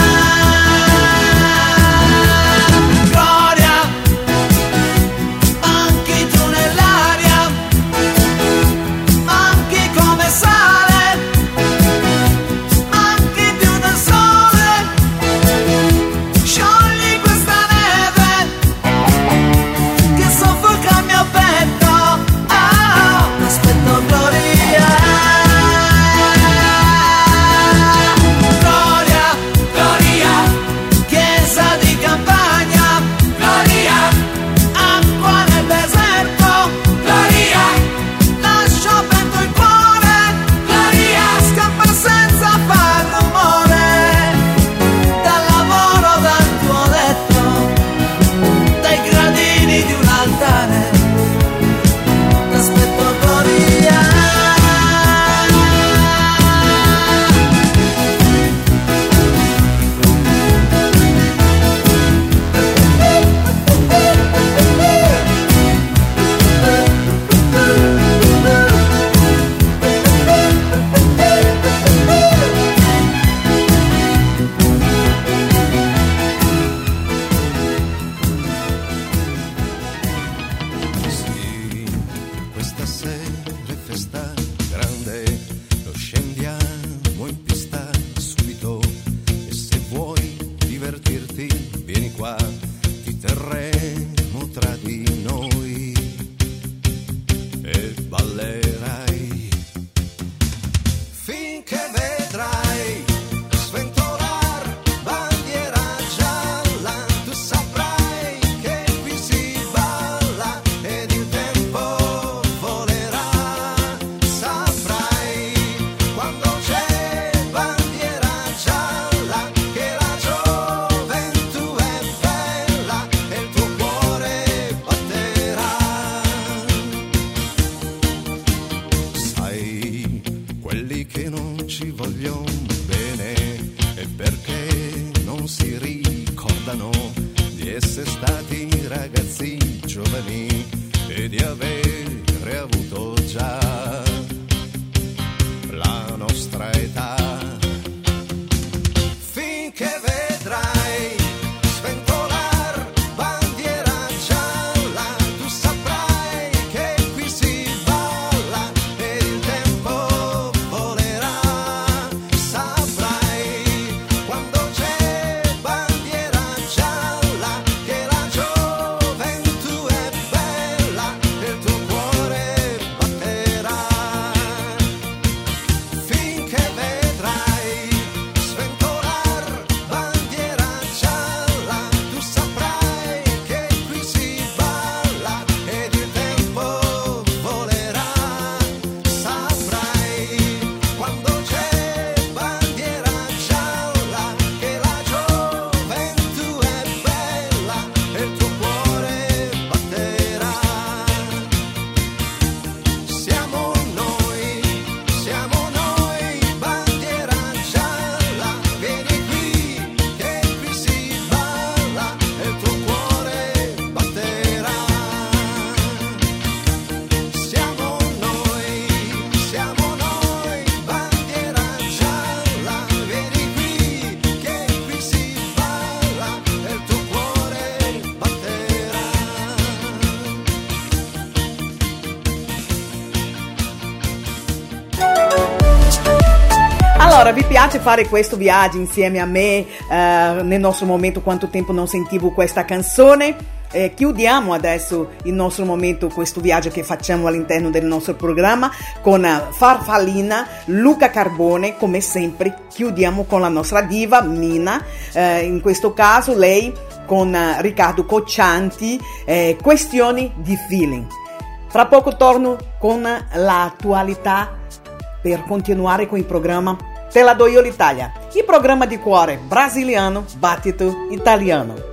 Allora, vi piace fare questo viaggio insieme a me nel nostro momento? Quanto tempo non sentivo questa canzone? Chiudiamo adesso il nostro momento, questo viaggio che facciamo all'interno del nostro programma con Farfallina, Luca Carbone. Come sempre chiudiamo con la nostra diva Mina, in questo caso lei con Riccardo Coccianti, Questioni di feeling. Fra poco torno con l'attualità per continuare con il programma Te la do io l'Italia, il programma di cuore brasiliano, battito italiano.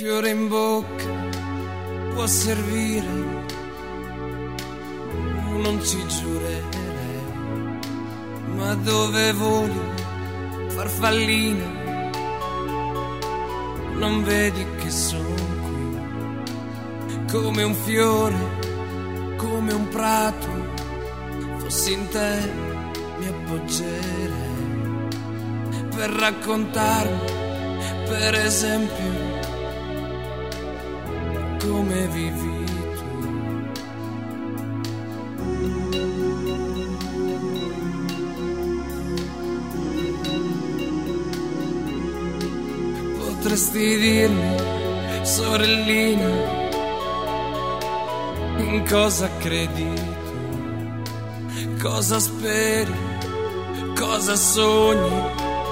fiore in bocca può servire, non ci giurerei, ma dove voli, farfallina, non vedi che sono qui, come un fiore, come un prato, fossi in te mi appoggerei, per raccontarmi, per esempio, come vivi tu. Potresti dirmi, sorellina, in cosa credi tu, cosa speri, cosa sogni,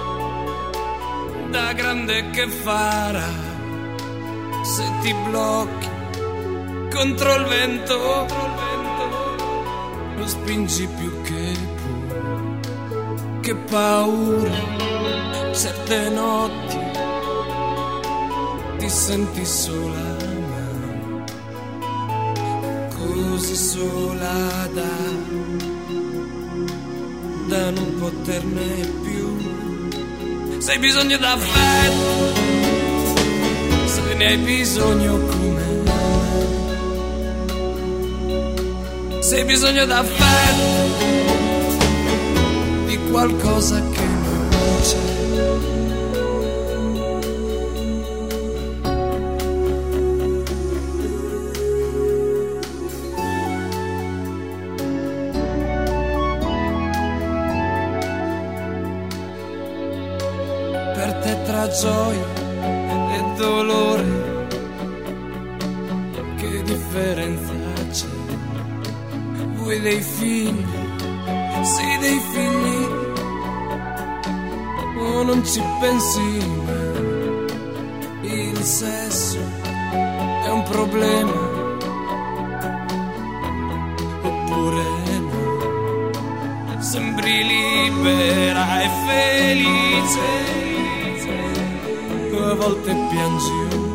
da grande che farà se ti blocchi contro il vento, lo spingi più che puoi, che paura, certe notti ti senti sola, ma così sola da non poterne più, se hai bisogno d'affetto, se ne hai bisogno come me, se hai bisogno d'affetto, di qualcosa che non c'è. Per te tra gioia e dolore, che differenza c'è? Vuoi dei figli? Sì, dei figli, o non ci pensi mai? Il sesso è un problema, oppure no? Sembri libera e felice, a volte piangi un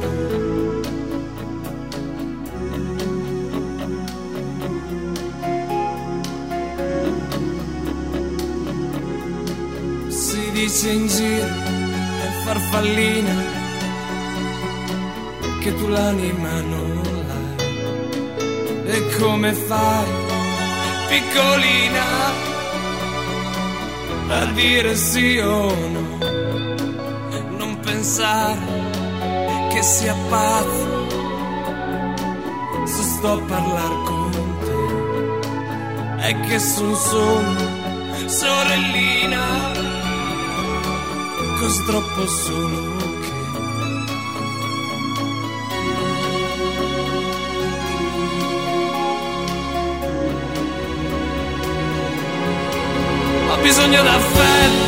po'. Si dice in giro, è farfallina, che tu l'anima non l'hai. E come fai, piccolina, a dire sì o no? Pensare che sia pazzo se sto a parlare con te, è che son solo sorellina, così troppo solo che ho bisogno d'affetto,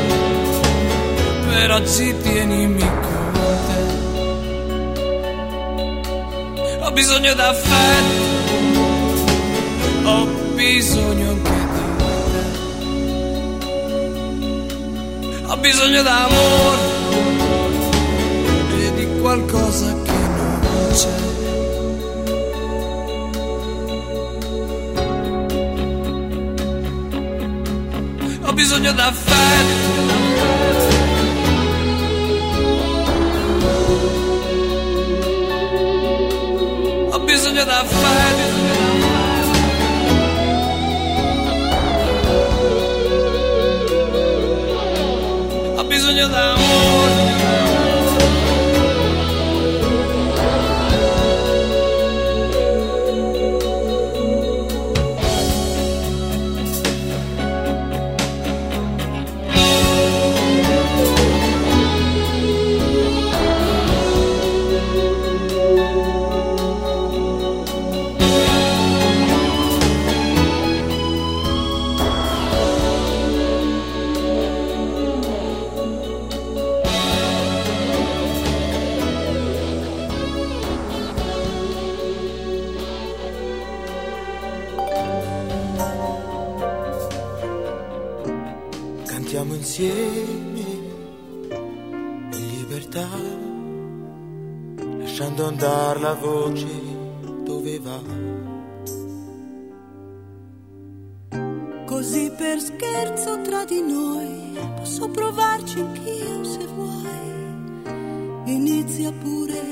per oggi tienimi con te. Ho bisogno d'affetto, ho bisogno anche di te. Ho bisogno d'amore e di qualcosa che non c'è. Ho bisogno d'affetto, ho bisogno d'affetto, ho bisogno d'amore. Cantiamo insieme in libertà lasciando andare la voce dove va. Così per scherzo tra di noi posso provarci anch'io se vuoi. Inizia pure,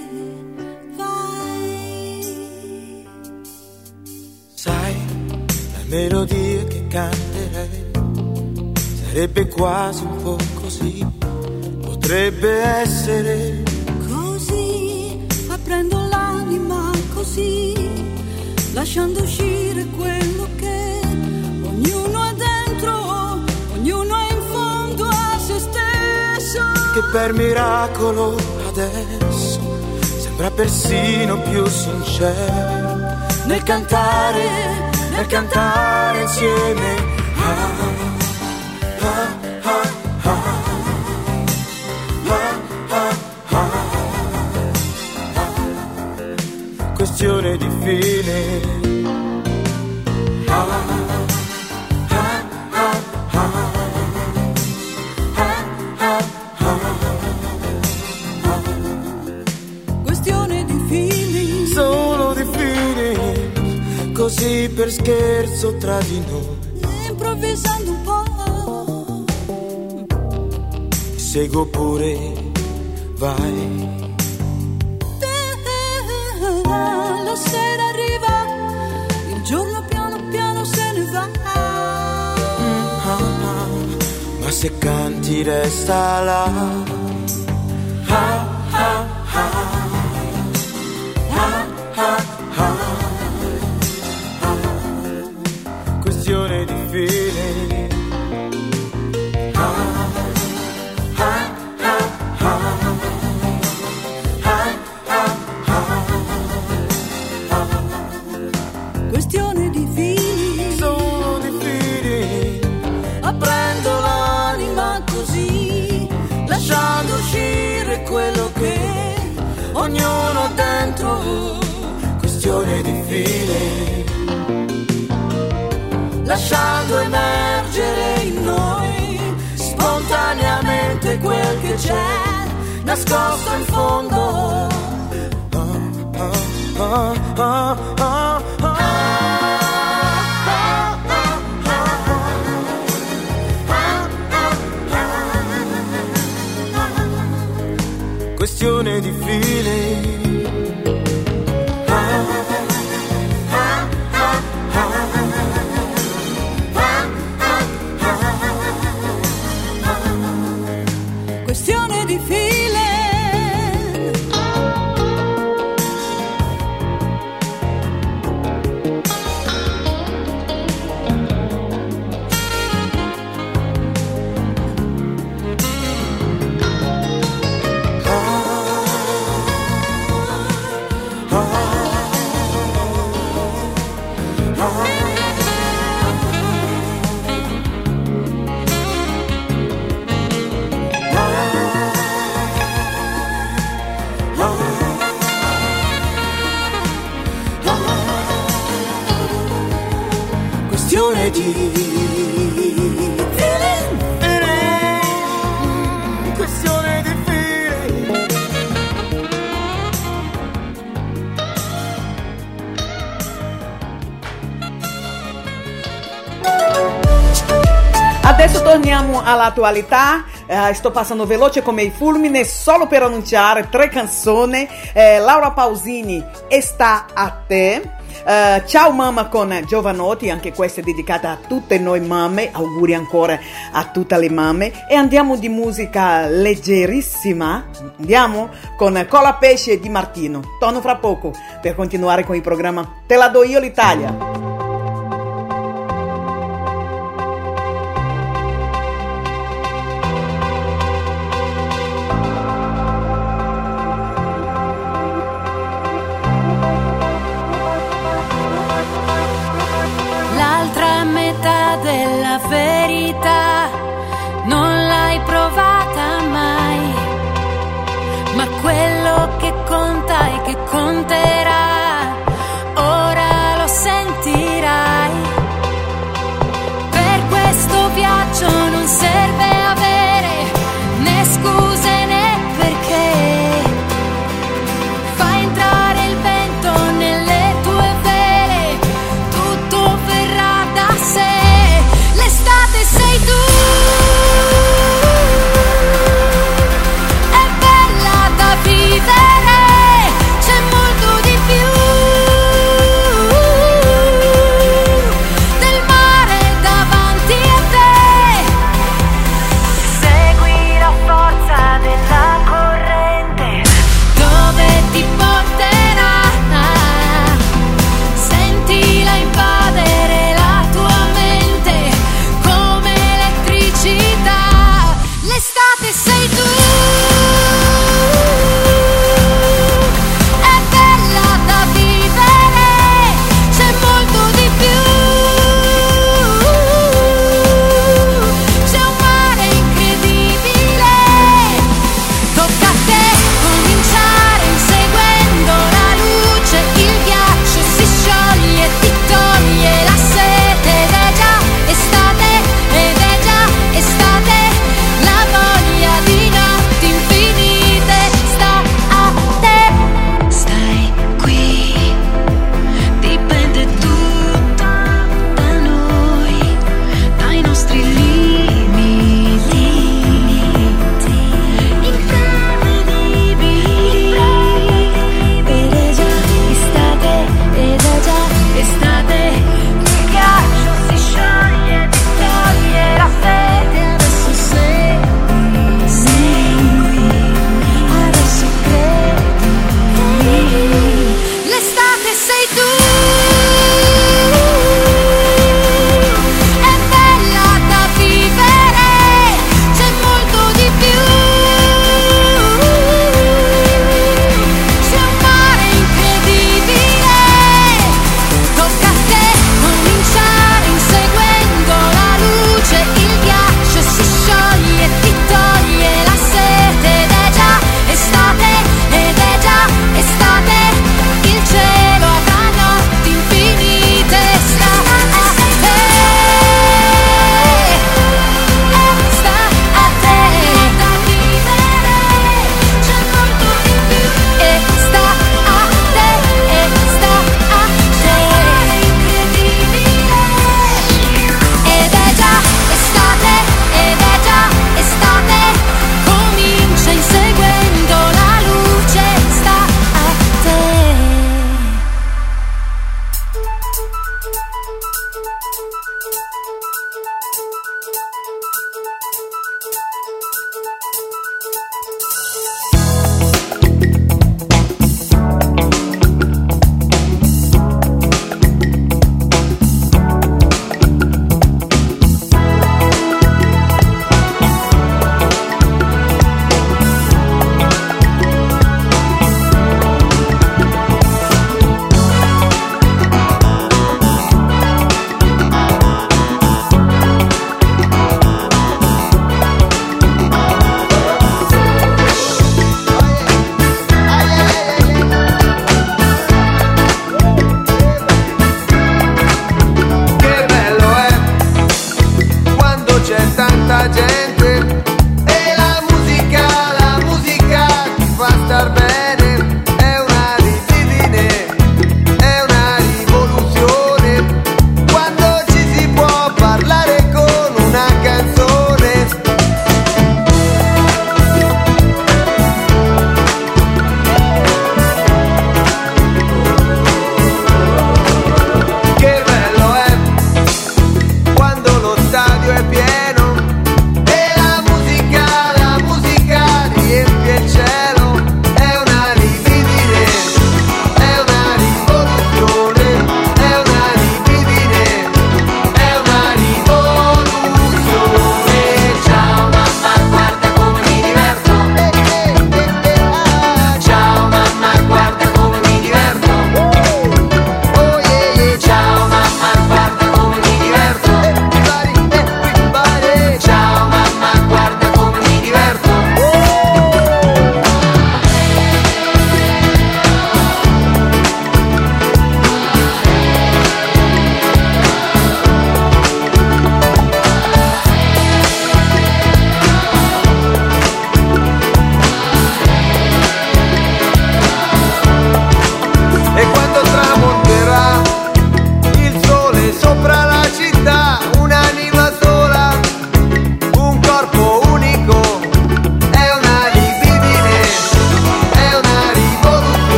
vai. Sai, la melodia che canterei sarebbe quasi un po' così, potrebbe essere così, aprendo l'anima così, lasciando uscire quello che ognuno ha dentro, ognuno è in fondo a se stesso. Che per miracolo adesso sembra persino più sincero nel cantare insieme. Questione di fine. Questione di feeling. Solo di feeling. Così per scherzo tra di noi, improvvisando un po'. Seguo pure, vai. La sera arriva, il giorno piano piano se ne va. Ma se canti resta là. Questione di feeling. Questione di feeling. Solo di feeling. Aprendo l'anima così, lasciando uscire quello che ognuno ha dentro. Questione di feeling. Lasciando emergere in noi spontaneamente quel che c'è nascosto in fondo. Questione di feeling. Questione di feeling. Questione di feeling. Questione di feeling. Adesso torniamo all'attualità. Sto passando veloce come il fulmine solo per annunciare 3 canzoni. Laura Pausini, Sta a te. Ciao mamma con Giovanotti, anche questa è dedicata a tutte noi mamme, auguri ancora a tutte le mamme. E andiamo di musica leggerissima, andiamo con Colapesce e Di Martino. Torno fra poco per continuare con il programma Te la do io l'Italia. Della verità non l'hai provata mai, ma quello che conta e che conterà ora lo senti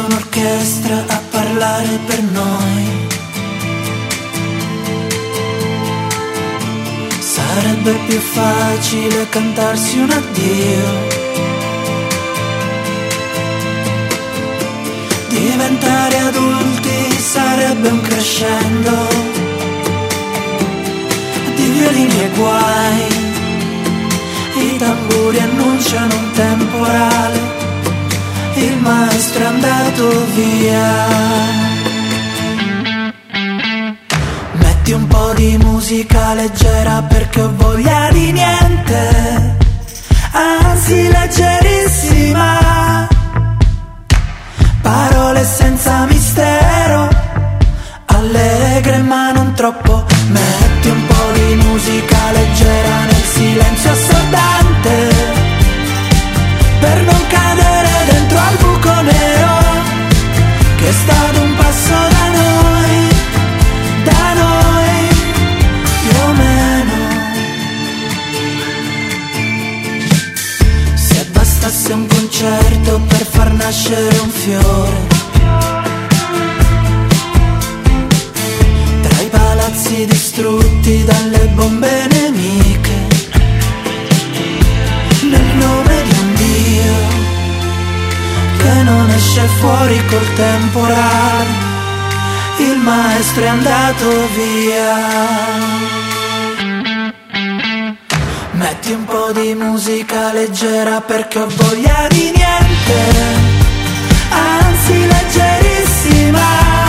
un'orchestra a parlare per noi. Sarebbe più facile cantarsi un addio. Diventare adulti sarebbe un crescendo di violini e guai. I tamburi annunciano un temporale, il maestro è andato via. Metti un po' di musica leggera perché ho voglia di niente, anzi leggerissima. Parole senza mistero, allegre ma non troppo. Metti un po' di musica leggera nel silenzio assordante, per non cadere dentro al buco nero che sta ad un passo da noi più o meno. Se bastasse un concerto per far nascere un fiore, tra i palazzi distrutti dalle bombe nemiche, nel nome di un Dio che non esce fuori col temporale, il maestro è andato via. Metti un po' di musica leggera perché ho voglia di niente, anzi leggerissima.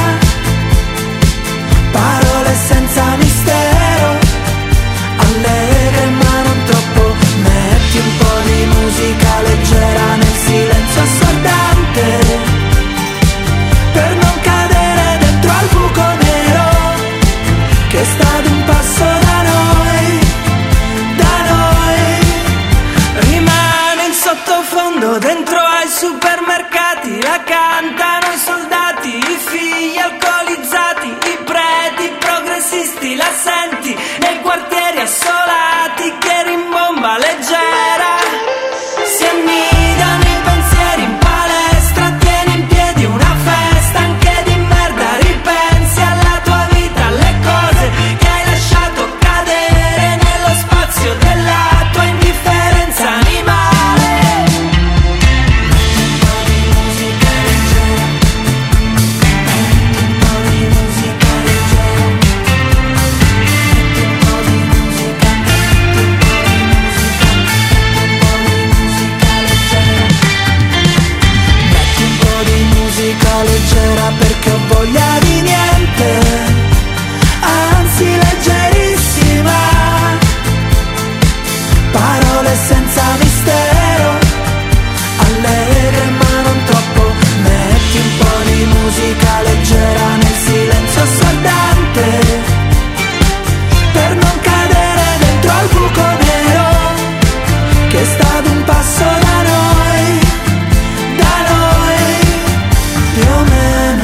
Parole senza mistero, allegre ma non troppo. Metti un po' di musica leggera nel silenzio assordante, per non cadere dentro al buco nero che sta ad un passo da noi, rimane in sottofondo dentro ai supermercati, la cantano i soldati, i figli alcolizzati, i preti progressisti, la senti nei quartieri assolati che rimbomba leggera, si annidano i pensieri in palestra, tieni in piedi una festa anche di merda, ripensi alla tua vita, alle cose che hai lasciato cadere nello spazio della tua indifferenza animale. Un po' di musica leggera, un po' di musica leggera, un po' di musica, un po' di musica, un po' di musica leggera. Metti un po' di musica leggera perché ho voglia di niente, anzi leggerissima. Parole senza mistero, allegre ma non troppo. Metti un po' di musica leggera nel silenzio assordante, per non cadere dentro al buco nero che sta ad un passo da noi più o meno.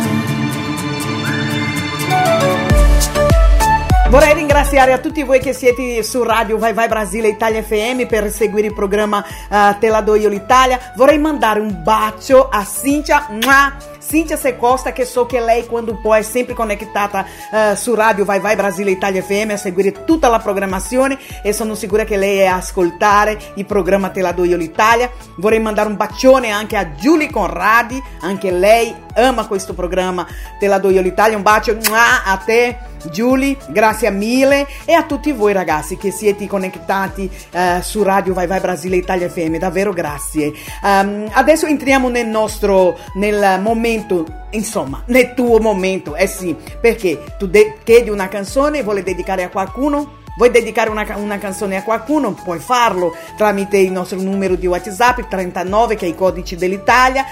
Vorrei ringraziare a tutti voi che siete su Radio Vai Vai Brasile Italia FM per seguire il programma Te la do io l'Italia. Vorrei mandare un bacio a Cíntia Secosta, che so che lei quando può è sempre conectata su Radio Vai Vai Brasile Italia FM a seguire tutta la programmazione, e sono sicura che lei è a ascoltare il programma Te la do io l'Italia. Vorrei mandare un bacione anche a Giulia Conradi, anche lei ama questo programma Te la do io l'Italia. Un bacio a te Giulia, grazie mille, e a tutti voi ragazzi che siete connettati su Radio Vai Vai Brasile Italia FM, davvero grazie. Adesso entriamo nel momento, insomma nel tuo momento, sì, perché tu chiedi una canzone, vuole dedicare a qualcuno. Vuoi dedicare una canzone a qualcuno? Puoi farlo tramite il nostro numero di WhatsApp 39, che è il codice dell'Italia,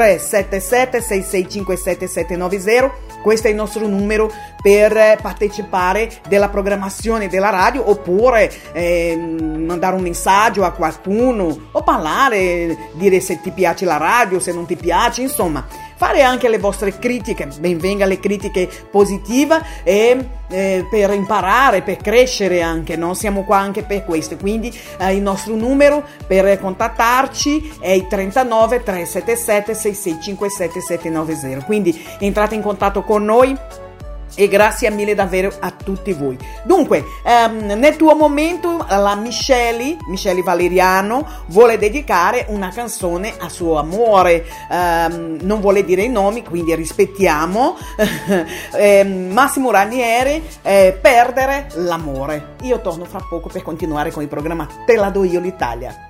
377-6657-790. Questo è il nostro numero per partecipare della programmazione della radio, oppure mandare un messaggio a qualcuno o parlare, dire se ti piace la radio, se non ti piace, insomma fare anche le vostre critiche, benvenga le critiche positive e per imparare, per crescere anche, no? Siamo qua anche per questo, quindi il nostro numero per contattarci è il 39 377 6657 790, quindi entrate in contatto con noi. E grazie mille davvero a tutti voi. Dunque, nel tuo momento la Michele Valeriano vuole dedicare una canzone a suo amore, non vuole dire i nomi, quindi rispettiamo. Massimo Ranieri, Perdere l'amore. Io torno fra poco per continuare con il programma Te la do io l'Italia.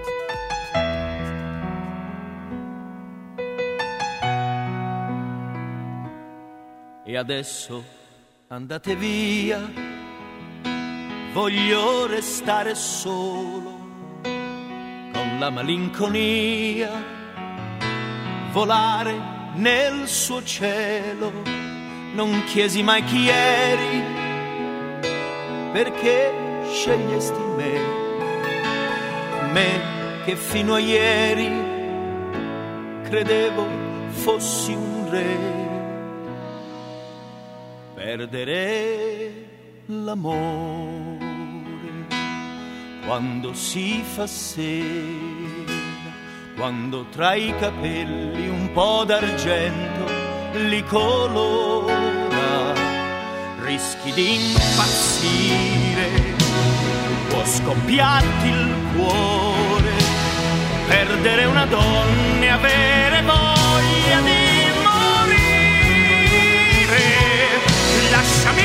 E adesso andate via, voglio restare solo, con la malinconia, volare nel suo cielo. Non chiesi mai chi eri, perché scegliesti me che fino a ieri credevo fossi un re. Perdere l'amore quando si fa sera, quando tra i capelli un po' d'argento li colora, rischi di impazzire, può scoppiarti il cuore, perdere una donna e avere voglia di lasciami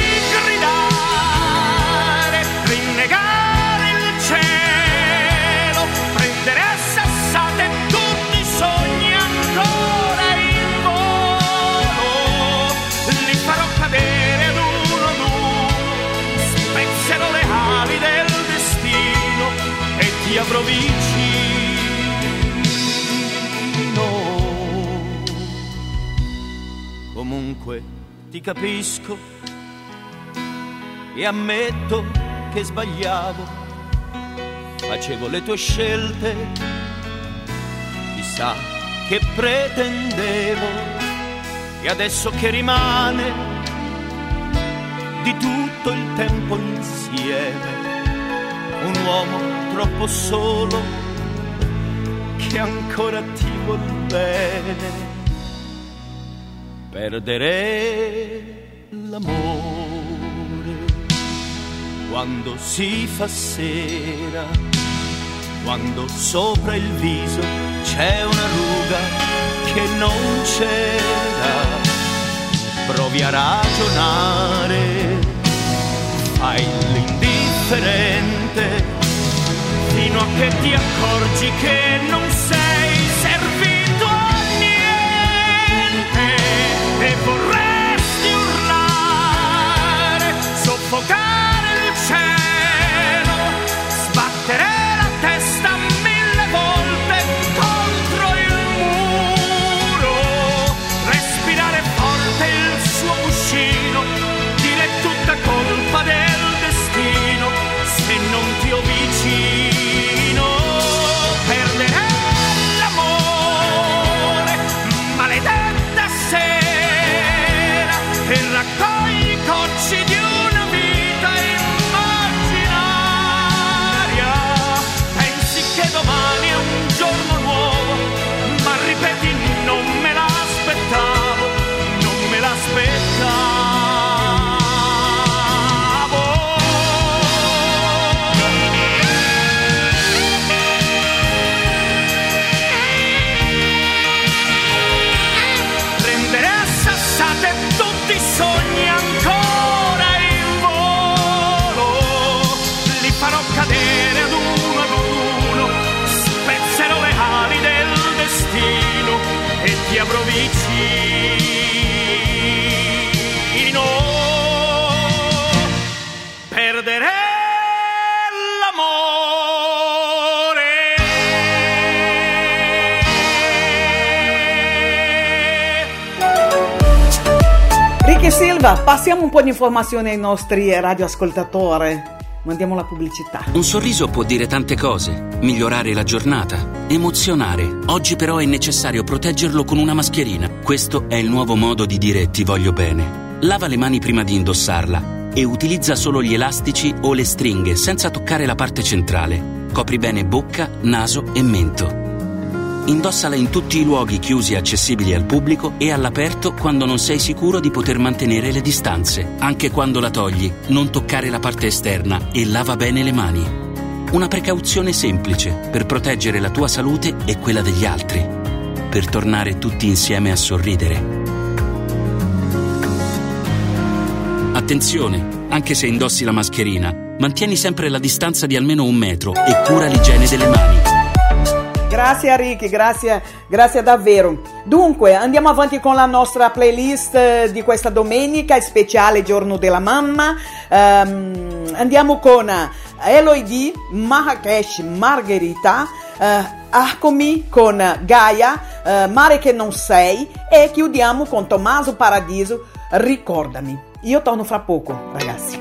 gridare, rinnegare il cielo, prendere a sassate tutti i sogni ancora in volo, li farò cadere ad uno, spezzerò le ali del destino e ti avrò vicino. Comunque ti capisco e ammetto che sbagliavo, facevo le tue scelte, chissà che pretendevo, e adesso che rimane di tutto il tempo insieme, un uomo troppo solo che ancora ti vuol bene. Perdere l'amore quando si fa sera, quando sopra il viso c'è una ruga che non c'era. Provi a ragionare, fai l'indifferente, fino a che ti accorgi che non sei servito a niente. E vorresti urlare, soffocare il cielo, sbattere la testa 1000 volte contro il muro, respirare forte il suo cuscino, dire tutta colpa del destino se non ti ho vicino. Perdere l'amore, maledetta sera, e raccogli i cocci di una vita immaginaria. Pensi che domani è un giorno nuovo, ma ripeti non me l'aspettavo, non me l'aspettavo. Prendere a sassate tutti i sogni ancora in volo, li farò cadere ad uno, spezzerò le ali del destino e ti avrò vicino. Perdere Ricky Silva, passiamo un po' di informazioni ai nostri radioascoltatori. mandiamo la pubblicità. Un sorriso può dire tante cose, migliorare la giornata, emozionare. Oggi però è necessario proteggerlo con una mascherina. Questo è il nuovo modo di dire ti voglio bene. Lava le mani prima di indossarla e utilizza solo gli elastici o le stringhe senza toccare la parte centrale. Copri bene bocca, naso e mento. Indossala in tutti i luoghi chiusi e accessibili al pubblico e all'aperto quando non sei sicuro di poter mantenere le distanze. Anche quando la togli, non toccare la parte esterna e lava bene le mani. Una precauzione semplice per proteggere la tua salute e quella degli altri. Per tornare tutti insieme a sorridere. Attenzione, anche se indossi la mascherina, mantieni sempre la distanza di almeno 1 metro e cura l'igiene delle mani. Grazie Ricky, grazie davvero. Dunque, andiamo avanti con la nostra playlist di questa domenica, speciale Giorno della Mamma. Andiamo con Eloy D, Marrakesh, Margherita, Arcomi con Gaia, Mare che non sei, e chiudiamo con Tommaso Paradiso, Ricordami. Io torno fra poco, ragazzi.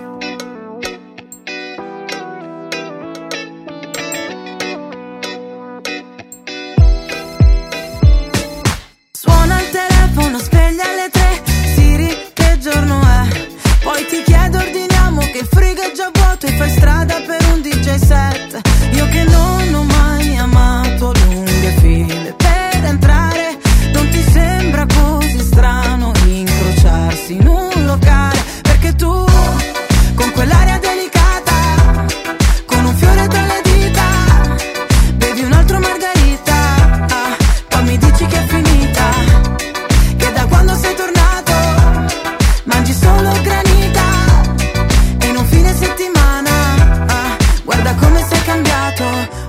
Sveglia alle 3, Siri, che giorno è? Poi ti chiedo, ordiniamo che il frigo è già vuoto e fai strada per un DJ set. Io che non ho mai amato lunghe file per entrare, non ti sembra così strano incrociarsi in un locale? Perché tu, con quell'aria delicata, con un fiore tra le dita, bevi un altro margarita, poi mi dici che è finita, quando sei tornato mangi solo granita e in un fine settimana guarda come sei cambiato.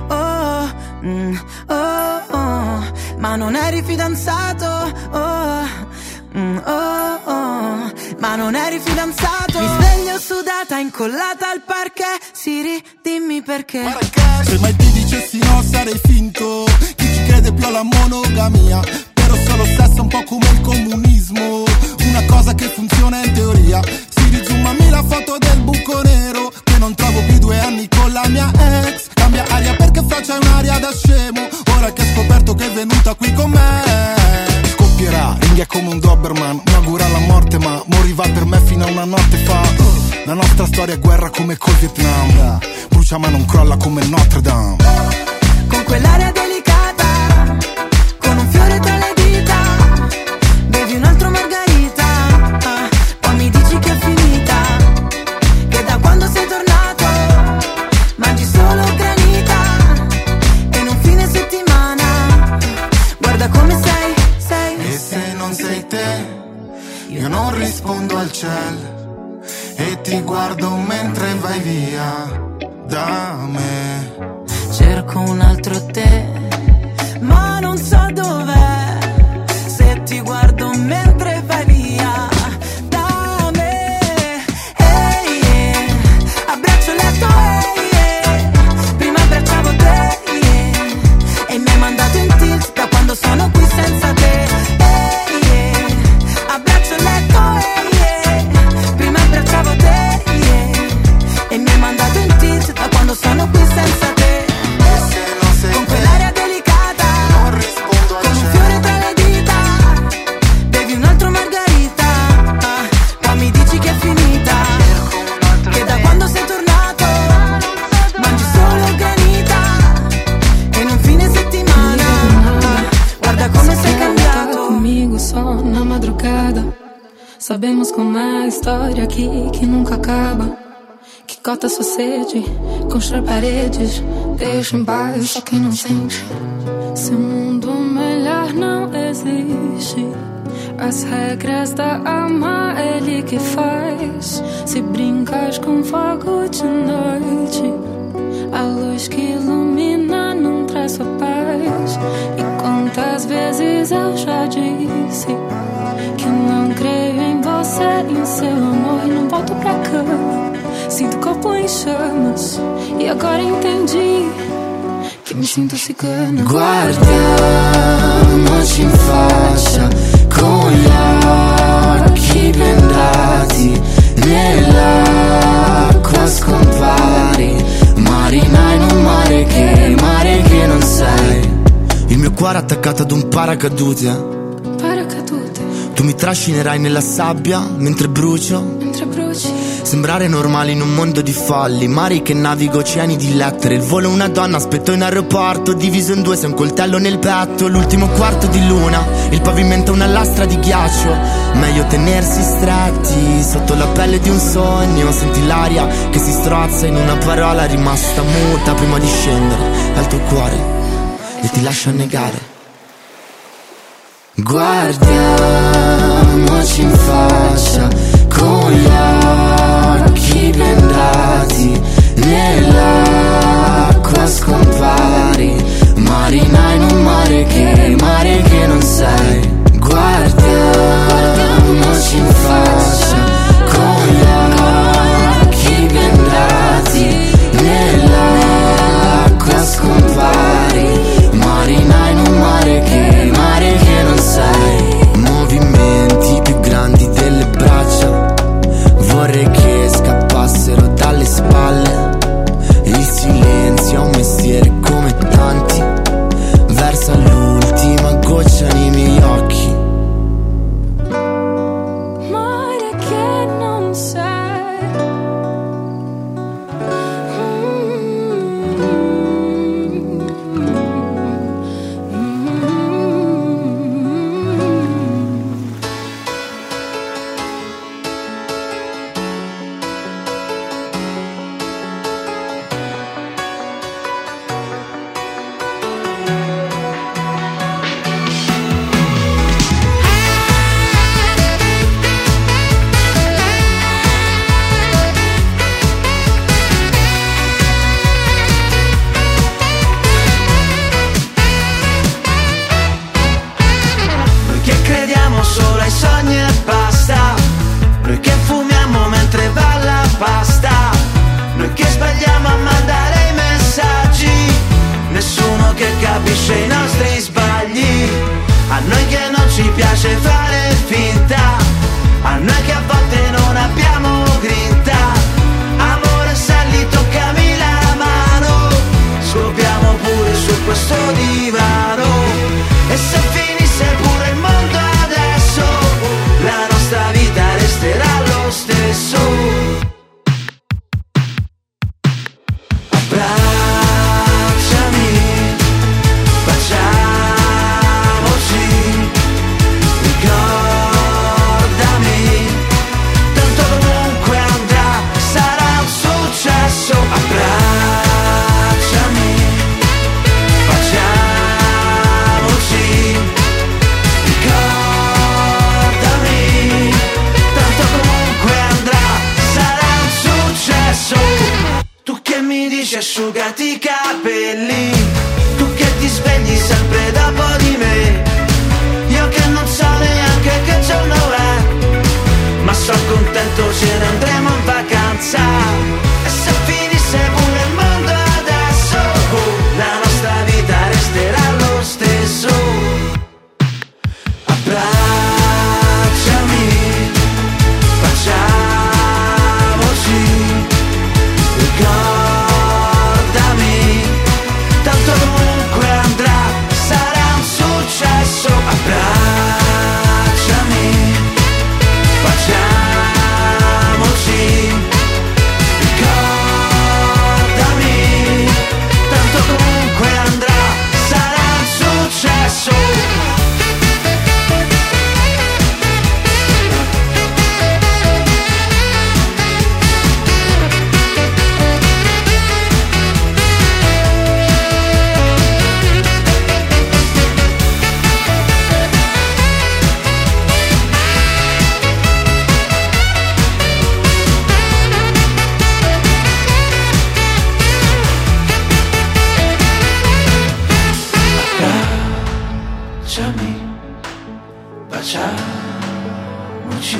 Ma non eri fidanzato, ma non eri fidanzato. Mi sveglio sudata incollata al parquet, Siri dimmi perché. Se mai ti dicessi no sarei finto, chi ci crede più alla monogamia? Solo sesso un po' come il comunismo, una cosa che funziona in teoria. Si rizoomami la foto del buco nero, che non trovo più 2 anni con la mia ex. Cambia aria perché faccia un'aria da scemo, ora che ho scoperto che è venuta qui con me. Scoppierà, ringhia come un Doberman, mi augura la morte ma moriva per me fino a una notte fa. La nostra storia è guerra come col Vietnam, brucia ma non crolla come Notre Dame. Con quell'aria delicata, con un fiore tra le dita, bevi un altro margarita, poi mi dici che è finita, che da quando sei tornato mangi solo granita e in un fine settimana guarda come sei. E se non sei te, io non rispondo al cielo e ti guardo mentre vai via da me. Cerco un altro te, ma non so dov'è, se ti guardo mentre vai via da me. Hey, yeah. Abbraccio il letto, hey, yeah. Prima abbracciavo te, yeah. E mi hai mandato in tilt da quando sono qui senza te. Hey, yeah. Abbraccio il letto, hey, yeah. Prima abbracciavo te, yeah. E mi hai mandato in tilt da quando sono qui senza te. Con quell'aria delicata, non rispondo con un fiore tra le dita, bevi un altro margarita, poi mi dici che è finita, che da quando sei tornato mangi solo granita e in un fine settimana guarda come sei cambiato. Comigo só na madrugada, sabemos como é a história aqui que nunca acaba. Que cota sua sede, constrói paredes, deixa em paz só quem não sente. Seu mundo melhor não existe. As regras da alma ele que faz. Se brincas com fogo de noite, a luz que ilumina não traz sua paz. E quantas vezes eu já disse que não creio em você, em seu amor, e não volto pra cama. Sinto o corpo em chamas e agora entendi que mi sinto cigana. Guardiamoci in faccia con gli occhi bendati, nell'acqua scompare cuore attaccato ad un paracadute. Tu mi trascinerai nella sabbia mentre brucio. Sembrare normale in un mondo di folli, mari che navigo, oceani di lettere. Il volo una donna, aspetto in aeroporto, diviso in due, sei un coltello nel petto. L'ultimo quarto di luna, il pavimento una lastra di ghiaccio. Meglio tenersi stretti sotto la pelle di un sogno. Senti l'aria che si strozza in una parola rimasta muta prima di scendere al tuo cuore e ti lascia annegare. Guardiamoci in faccia con gli occhi bendati, nell'acqua scompari, marina in un mare che non sei. Guardiamoci in faccia con gli occhi bendati, nell'acqua scompari, marina in un mare che non sei. Movimenti più grandi delle braccia, vorrei che scappassero dalle spalle. Il silenzio è un mestiere come tanti, versa l'ultima goccia nei miei occhi. Mare che non sei. Capisce i nostri sbagli, a noi che non ci piace fare finta, a noi che a volte non abbiamo grinta. Amore, sali, toccami la mano, scopriamo pure su questo divano. E se finisse pure il mondo adesso, la nostra vita resterà lo stesso. Asciugati i capelli, tu che ti svegli sempre dopo di me. Io che non so neanche che giorno è, ma sono contento, ce ne andremo in vacanza. E se finisse pure il mondo adesso, la nostra vita resterà lo stesso. Abbracciami, facciamoci tanto comunque andrà, sarà un successo. Abbracciami, facciamoci, ricordami, tanto comunque andrà, sarà un successo. Baciamoci,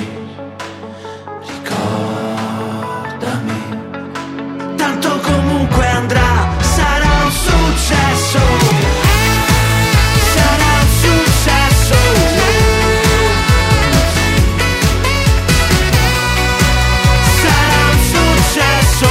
ricordami, tanto comunque andrà, sarà un successo, sarà un successo, sarà un successo.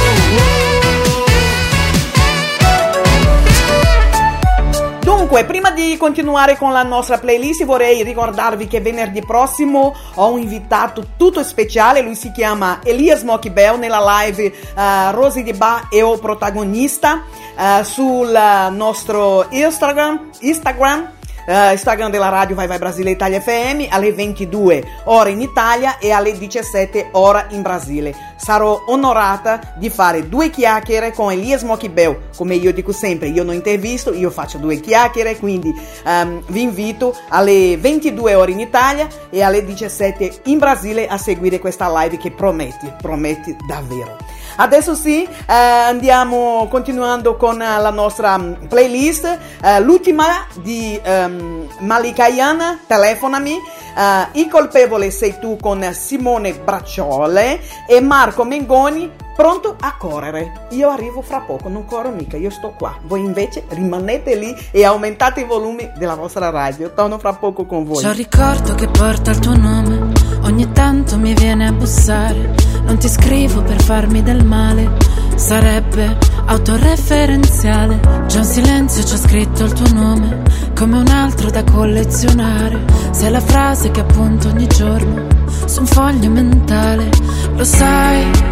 Dunque, prima di continuare con la nostra playlist, vorrei ricordarvi che venerdì prossimo ho un invitato tutto speciale. Lui si chiama Elias Smokey Bell. Nella live Rosy Di Ba è o protagonista sul nostro Instagram della radio Vai Vai Brasile Italia FM alle 22 ore in Italia e alle 17 ore in Brasile. Sarò onorata di fare 2 chiacchiere con Elias Smokey Bell. Come io dico sempre, io non intervisto, io faccio 2 chiacchiere, quindi vi invito alle 22 ore in Italia e alle 17 in Brasile a seguire questa live che prometti davvero. Adesso sì, andiamo continuando con la nostra playlist, l'ultima di Malika Ayana, Telefonami, Il colpevole sei tu con Simone Bracciole e Marco Mengoni, Pronto a correre. Io arrivo fra poco, non corro mica, io sto qua. Voi invece rimanete lì e aumentate i volumi della vostra radio. Torno fra poco con voi. C'ho un ricordo che porta il tuo nome, ogni tanto mi viene a bussare. Non ti scrivo per farmi del male, sarebbe autoreferenziale. Già in silenzio c'ho scritto il tuo nome, come un altro da collezionare. Sei la frase che appunto ogni giorno su un foglio mentale. Lo sai,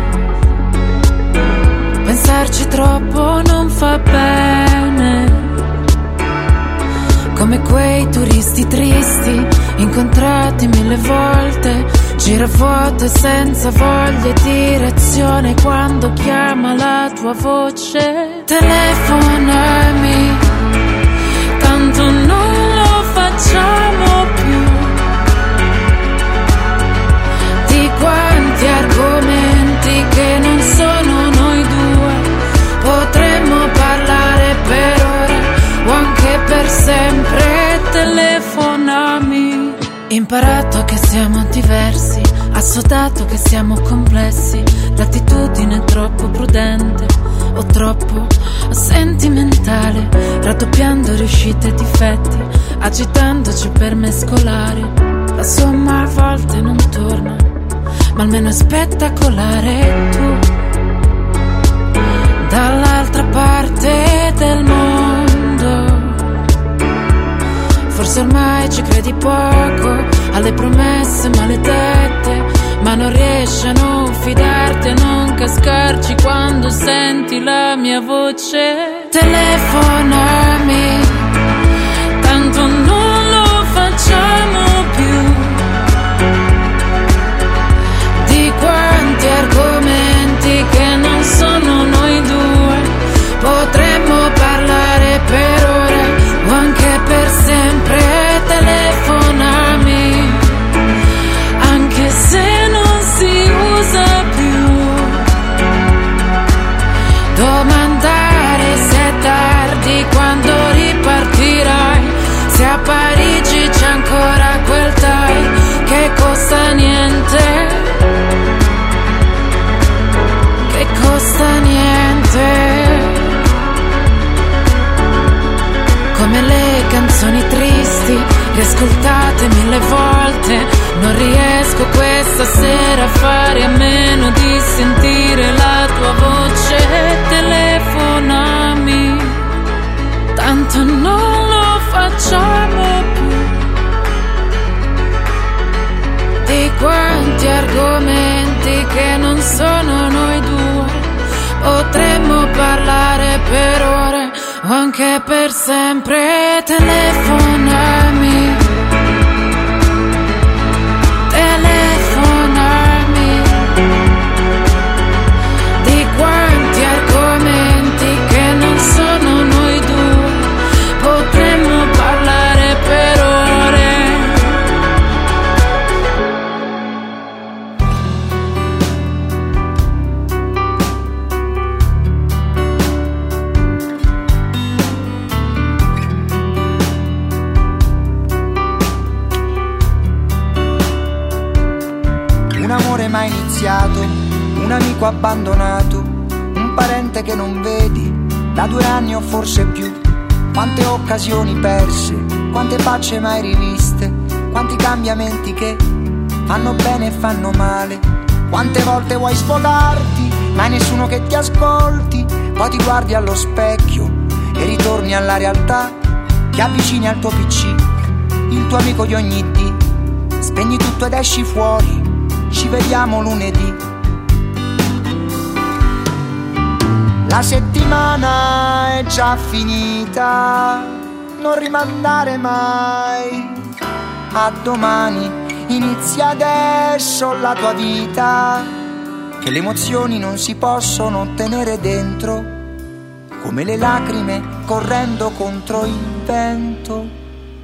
pensarci troppo non fa bene, come quei turisti tristi incontrati 1000 volte, giravuoto e senza voglia e direzione. Quando chiama la tua voce, telefonami, tanto non lo facciamo più. Di quanti argomenti che non sono noi due potremmo parlare per ore o anche per sempre. Telefonami. Imparato che siamo diversi, assodato che siamo complessi. L'attitudine è troppo prudente o troppo sentimentale, raddoppiando riuscite e difetti, agitandoci per mescolare. La somma a volte non torna, ma almeno è spettacolare. Tu dall'altra parte del mondo, forse ormai ci credi poco alle promesse maledette, ma non riesci a non fidarti, a non cascarci quando senti la mia voce. Telefonami, tanto non lo facciamo più. Di quanti argomenti che non sono noi due potremmo parlare per ore o anche per sempre. Telefonami, anche se non si usa più. Domandare se è tardi, quando ripartirai, se a Parigi c'è ancora quel tai che costa niente, che costa niente. Come le canzoni tristi, riascoltate 1000 volte, non riesco questa sera a fare a meno di sentire la tua voce. Telefonami, tanto non lo facciamo più. Di quanti argomenti che non sono noi due potremmo parlare per ore o anche per sempre. Telefonami, telefonami. Di quanti argomenti che non sono noi due potremmo parlare per ore. Mai iniziato, un amico abbandonato, un parente che non vedi da 2 anni o forse più. Quante occasioni perse, quante facce mai riviste, quanti cambiamenti che fanno bene e fanno male. Quante volte vuoi sfogarti, ma hai nessuno che ti ascolti. Poi ti guardi allo specchio e ritorni alla realtà ti avvicini al tuo PC, il tuo amico di ogni dì. Spegni tutto ed esci fuori, ci vediamo lunedì. La settimana è già finita, non rimandare mai a domani. Inizia adesso la tua vita, che le emozioni non si possono tenere dentro, come le lacrime correndo contro il vento.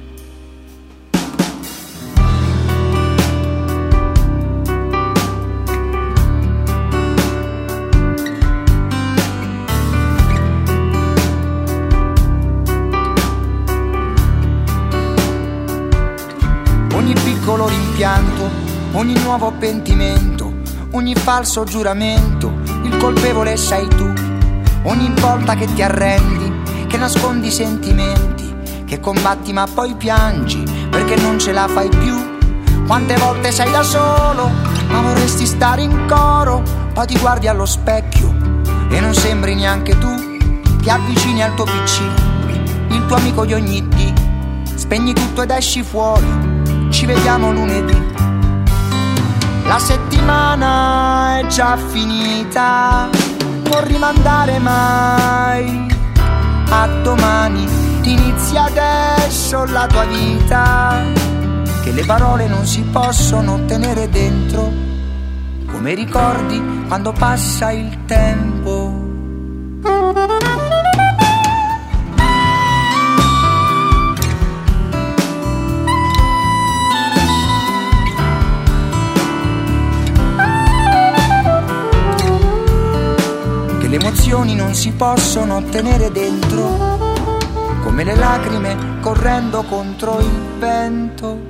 Ogni piccolo rimpianto, ogni nuovo pentimento, ogni falso giuramento, il colpevole sei tu. Ogni volta che ti arrendi, che nascondi i sentimenti, che combatti ma poi piangi perché non ce la fai più. Quante volte sei da solo, ma vorresti stare in coro, poi ti guardi allo specchio e non sembri neanche tu. Ti avvicini al tuo PC, il tuo amico di ogni dì, spegni tutto ed esci fuori, ci vediamo lunedì. La settimana è già finita, non rimandare mai a domani. Inizia adesso la tua vita, che le parole non si possono tenere dentro, come ricordi quando passa il tempo. Le emozioni non si possono tenere dentro, come le lacrime correndo contro il vento.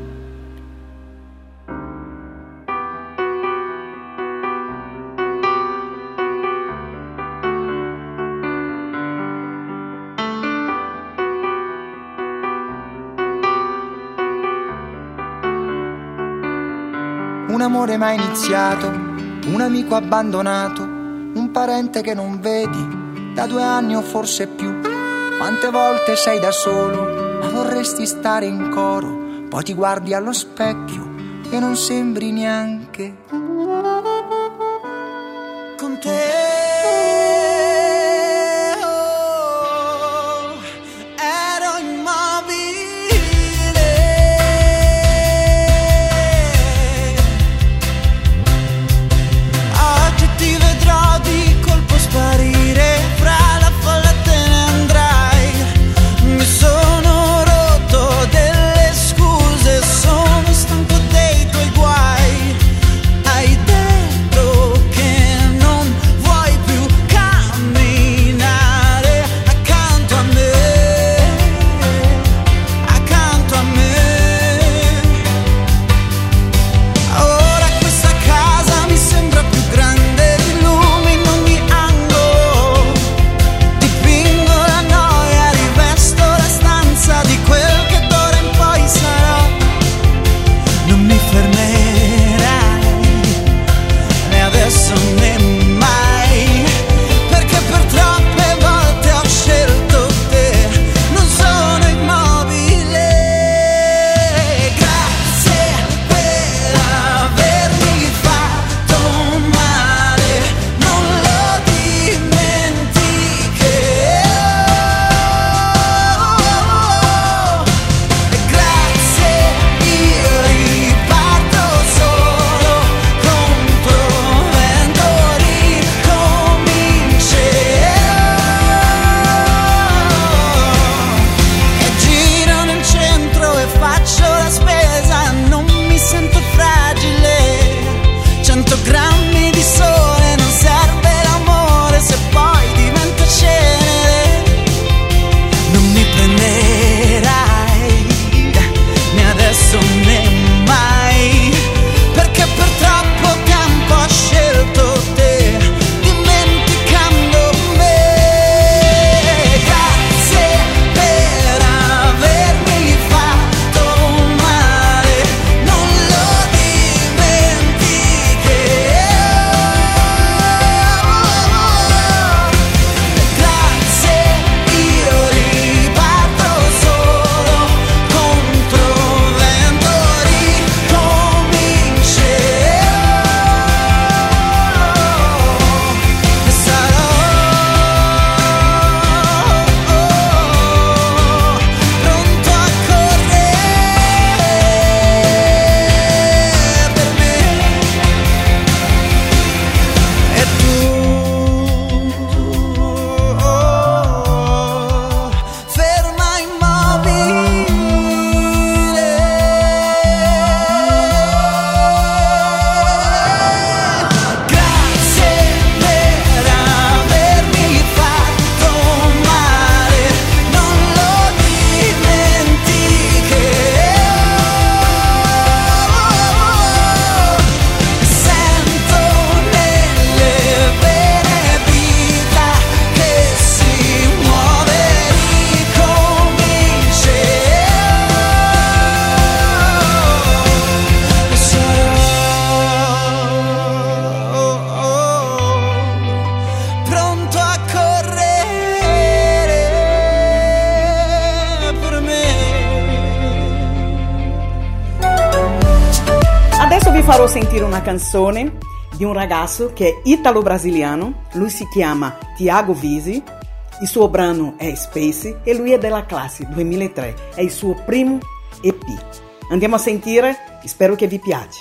Un amore mai iniziato, un amico abbandonato, un parente che non vedi da 2 anni o forse più. Quante volte sei da solo, ma vorresti stare in coro, poi ti guardi allo specchio e non sembri neanche con te. Hai detto che non vuoi farò sentire una canzone di un ragazzo che è italo-brasiliano, lui si chiama Thiago Visi, il suo brano è Space e lui è della classe 2003, è il suo primo EP. Andiamo a sentire, spero che vi piace.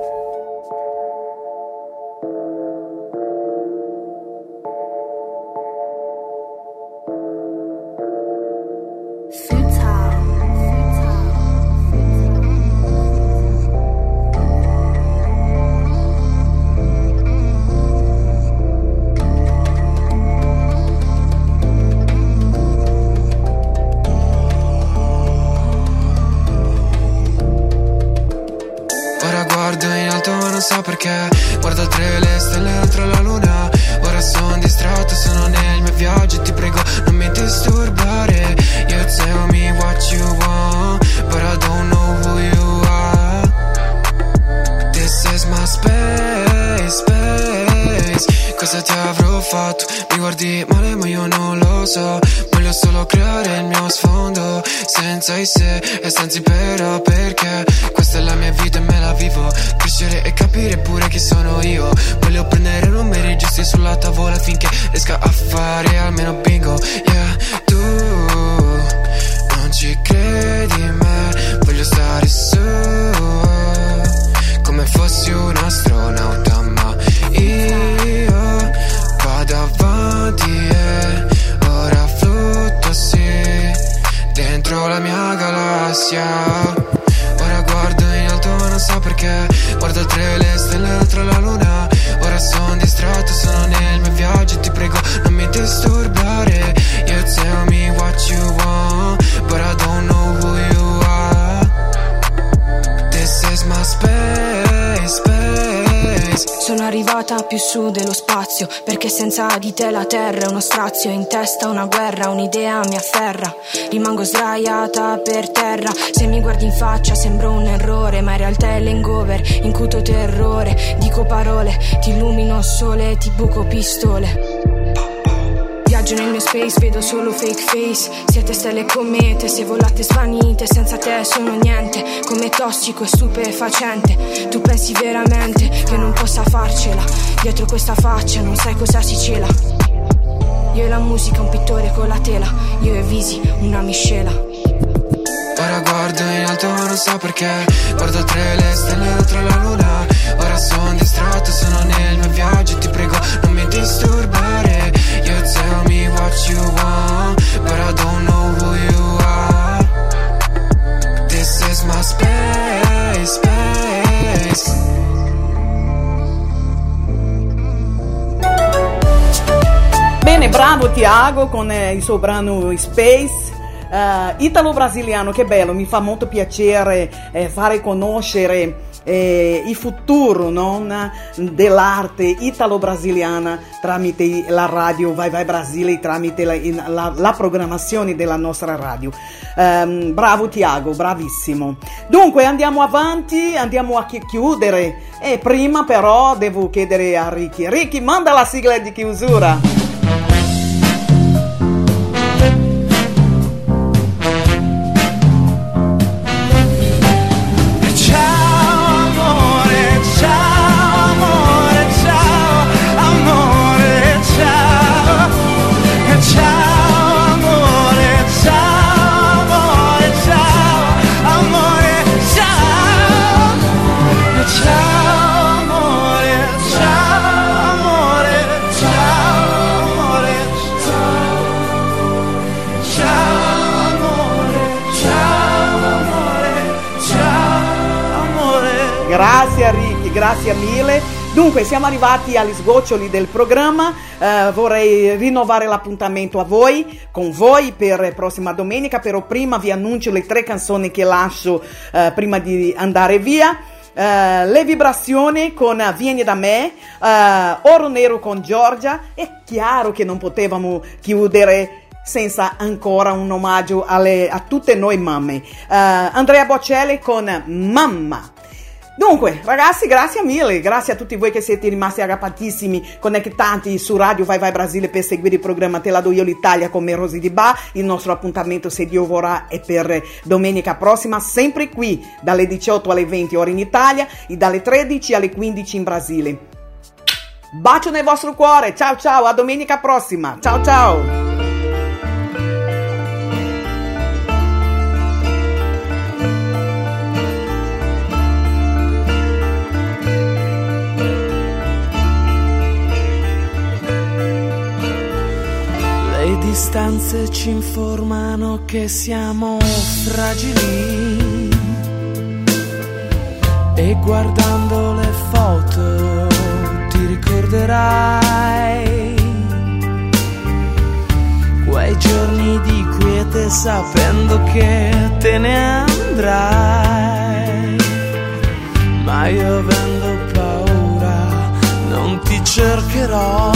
Perché guardo oltre le stelle, oltre la luna. Ora sono distratto, sono nel mio viaggio e ti prego non mi disturbare. You tell me what you want, but I don't know who you are. This is my space, space. Cosa ti avrò fatto? Mi guardi male ma io non lo so. Voglio solo creare il mio sfondo, senza i se e senza i però, perché questa è la mia vita e me la vivo. Crescere e capire pure chi sono io. Voglio prendere numeri giusti sulla tavola finché riesca a fare almeno bingo. Yeah, tu non ci credi in me, voglio stare su come fossi un astronauta, ma io vado avanti e ora flutto sì dentro la mia galassia. Ora guardo in alto ma non so perché, guardo oltre le stelle, oltre la luna. Ora sono distratto, sono nel mio viaggio e ti prego non mi disturbare. You tell me what you want, but I don't know who you are. This is my space, space. Sono arrivata più su dello spazio, perché senza di te la terra è uno strazio. In testa una guerra, un'idea mi afferra. Rimango sdraiata per terra. Se mi guardi in faccia sembro un errore, ma in realtà è l'hangover, incuto terrore. Dico parole, ti illumino sole, ti buco pistole. Viaggio nel mio space, vedo solo fake face. Siete stelle e comete, se volate svanite. Senza te sono niente, come tossico e stupefacente. Tu pensi veramente che non possa farcela? Dietro questa faccia non sai cosa si cela. Io e la musica, un pittore con la tela. Io e Visi, una miscela. Ora guardo in alto ma non so perché, guardo oltre le stelle, oltre la luna. Ora sono distratto, sono nel mio viaggio e ti prego non mi disturbare. You tell me what you want, but I don't know who you are. This is my space, space. Bene, bravo Thiago con il suo brano Space. Italo-brasiliano, che bello, mi fa molto piacere fare conoscere il futuro, no? Dell'arte italo-brasiliana tramite la radio Vai Vai Brasile, tramite la programmazione della nostra radio. Bravo Thiago, bravissimo. Dunque andiamo avanti, andiamo a chiudere e prima però devo chiedere a Ricky, manda la sigla di chiusura. Grazie Ricky, grazie mille. Dunque siamo arrivati agli sgoccioli del programma, vorrei rinnovare l'appuntamento con voi per prossima domenica, però prima vi annuncio le 3 canzoni che lascio prima di andare via. Le vibrazioni con Vieni da me, Oro Nero con Giorgia. È chiaro che non potevamo chiudere senza ancora un omaggio a tutte noi mamme. Andrea Bocelli con Mamma. Dunque, ragazzi, grazie mille, grazie a tutti voi che siete rimasti aggrappatissimi, connettati su Radio Vai Vai Brasile per seguire il programma Te la do io l'Italia con me Rosy Di Ba. Il nostro appuntamento, se Dio vorrà, è per domenica prossima, sempre qui, dalle 18 alle 20 ore in Italia e dalle 13 alle 15 in Brasile. Bacio nel vostro cuore, ciao ciao, a domenica prossima, ciao ciao! Le distanze ci informano che siamo fragili e guardando le foto ti ricorderai quei giorni di quiete sapendo che te ne andrai, ma io avendo paura non ti cercherò.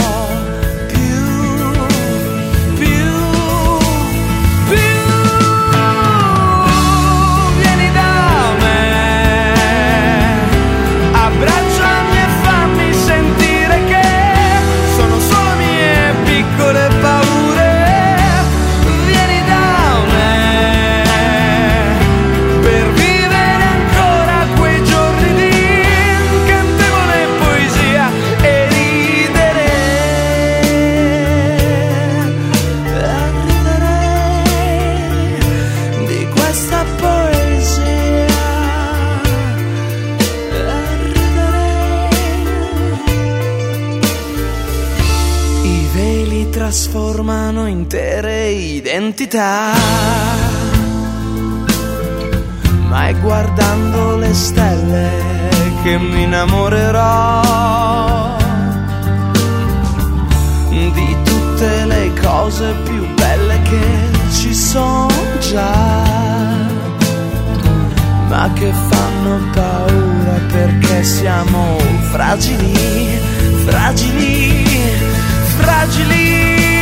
Trasformano intere identità, ma è guardando le stelle che mi innamorerò di tutte le cose più belle che ci sono già, ma che fanno paura perché siamo fragili, fragili, fragili.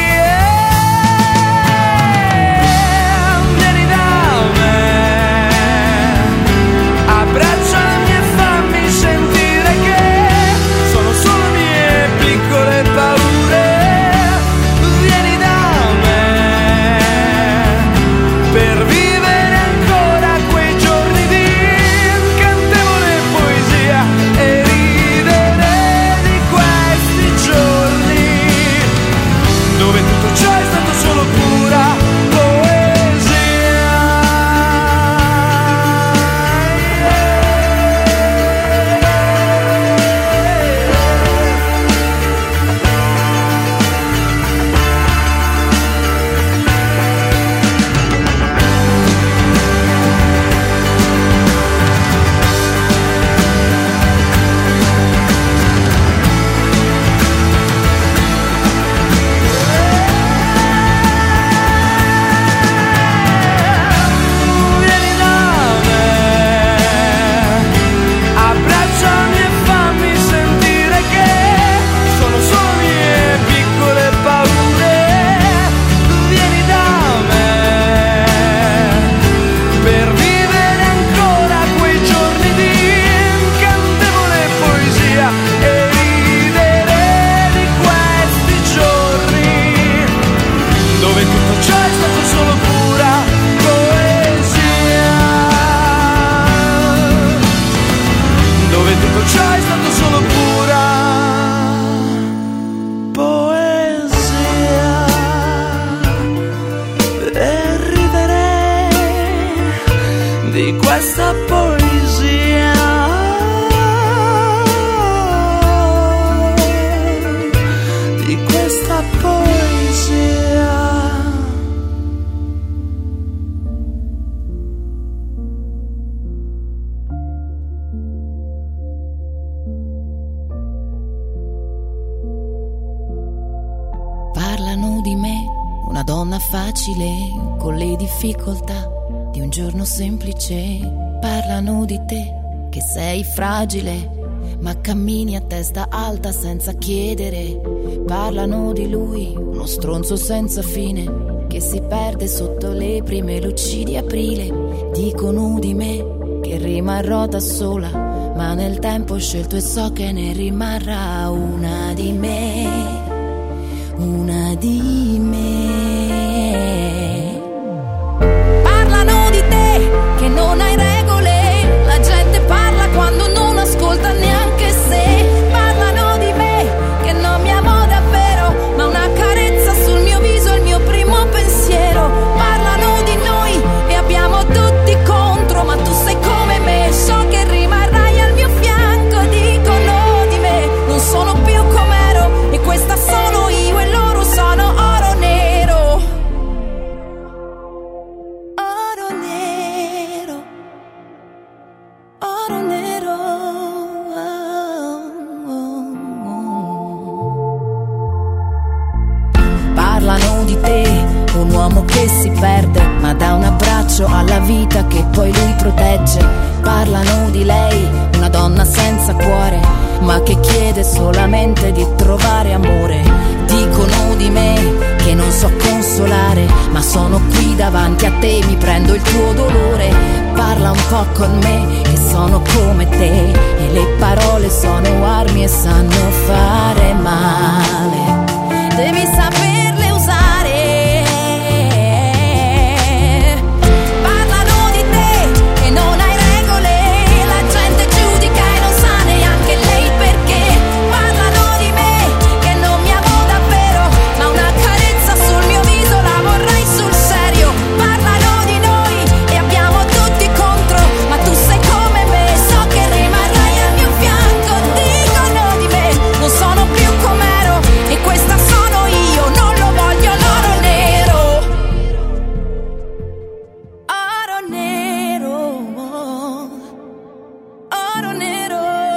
Abbracciami e fammi sentire che sono solo mie piccole paure. Vieni da me per vivere ancora quei giorni di incantevole poesia e ridere di questi giorni dove tutto ciò è stato solo pura questa poesia. Di questa poesia. Parlano di me, una donna facile, con le difficoltà di un giorno semplice. Parlano di te, che sei fragile, ma cammini a testa alta senza chiedere. Parlano di lui, uno stronzo senza fine, che si perde sotto le prime luci di aprile. Dicono di me, che rimarrò da sola, ma nel tempo ho scelto e so che ne rimarrà una di me, una di me. Parlano di te che non hai regole, la gente parla quando non ascolta neanche se. Parlano di me che non mi amo davvero, ma una carezza sul mio viso è il mio primo pensiero. Parlano di noi e abbiamo tutti contro, ma tu sei come me, so che rimarrai al mio fianco. Dicono di me non sono più com'ero, e questa sono io e loro sono oro nero. Oro nero, oro nero. Parlano di te, un uomo che si perde, ma dà un abbraccio alla vita che poi lui protegge. Parlano di lei, una donna senza cuore, ma che chiede solamente di trovare amore. Dicono di me che non so consolare, ma sono qui davanti a te, mi prendo il tuo dolore. Parla un po' con me, che sono come te, e le parole sono armi e sanno fare male. Devi saperle usare. Parlano di te che non hai regole, la gente giudica e non sa neanche lei perché. Parlano di me che non mi amo davvero, ma una carezza sul mio viso la vorrei sul serio. Parlano di noi e abbiamo tutti contro, ma tu sei come me, so che rimarrai al mio fianco. Dicono di me non sono più com'ero, e questa sono io, non lo voglio l'oro nero. Oro nero, oro nero.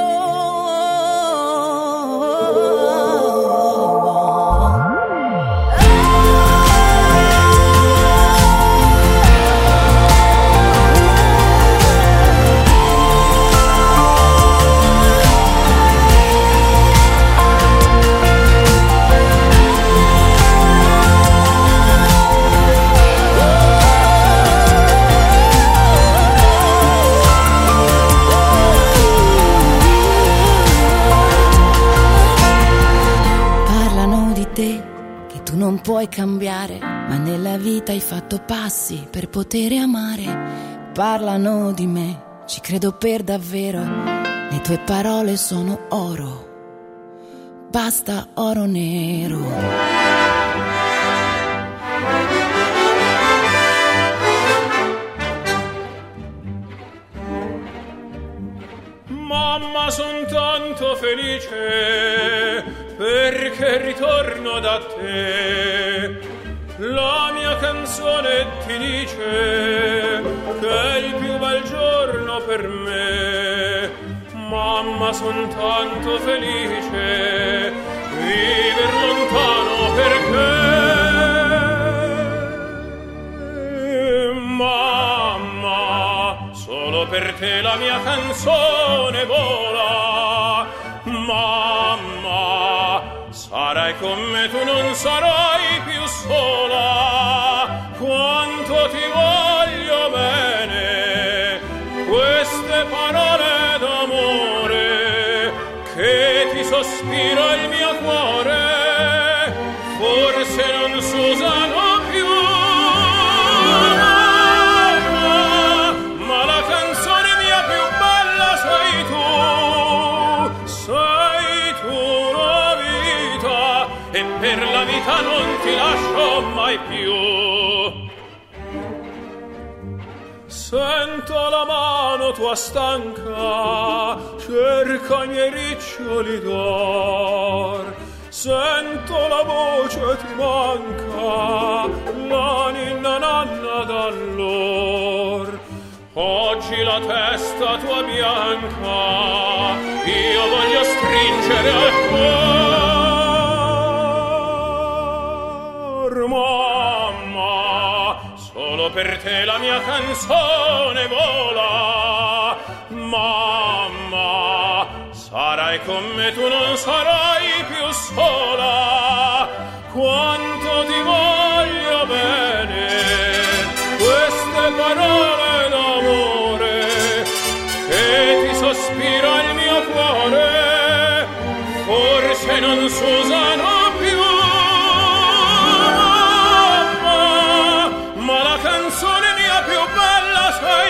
Parlano di te che tu non puoi cambiare, ma nella vita hai fatto passi per poter amare. Parlano di me, ci credo per davvero, le tue parole sono oro, basta oro nero. Mamma, son tanto felice perché ritorno da te. La mia canzone ti dice che è il più bel giorno per me. Mamma, son tanto felice viver lontano perché. Mamma, solo per te la mia canzone vola. Mamma, sarai con me, tu non sarai più sola. Quanto ti voglio bene, queste parole d'amore che ti sospira il mio cuore, forse non s'usano più. Ma la canzone mia più bella sei tu la vita, e per la vita non ti lascio mai più. Sento la mano tua stanca, cerca i miei riccioli d'or. Sento la voce ti manca, la ninna nanna d'allor. Oggi la testa tua bianca io voglio stringere al cuore. Mamma, solo per te la mia canzone vola. Mamma, sarai con me, tu non sarai più sola. Quanto ti voglio bene, queste parole d'amore che ti sospira non s'usano più, ma la canzone mia più bella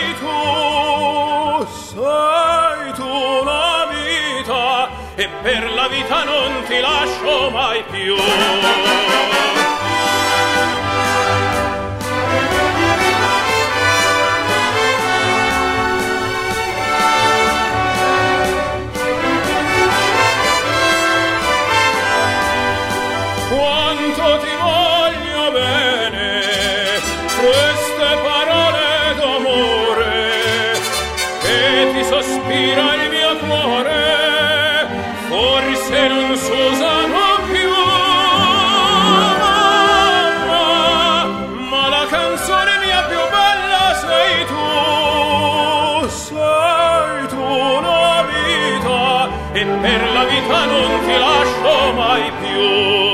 sei tu la vita, e per la vita non ti lascio mai più. Quanto ti voglio bene, queste parole d'amore, che ti sospira il mio cuore, forse non s'usano più, ma la canzone mia più bella sei tu la vita, e per la vita non ti lascio mai più.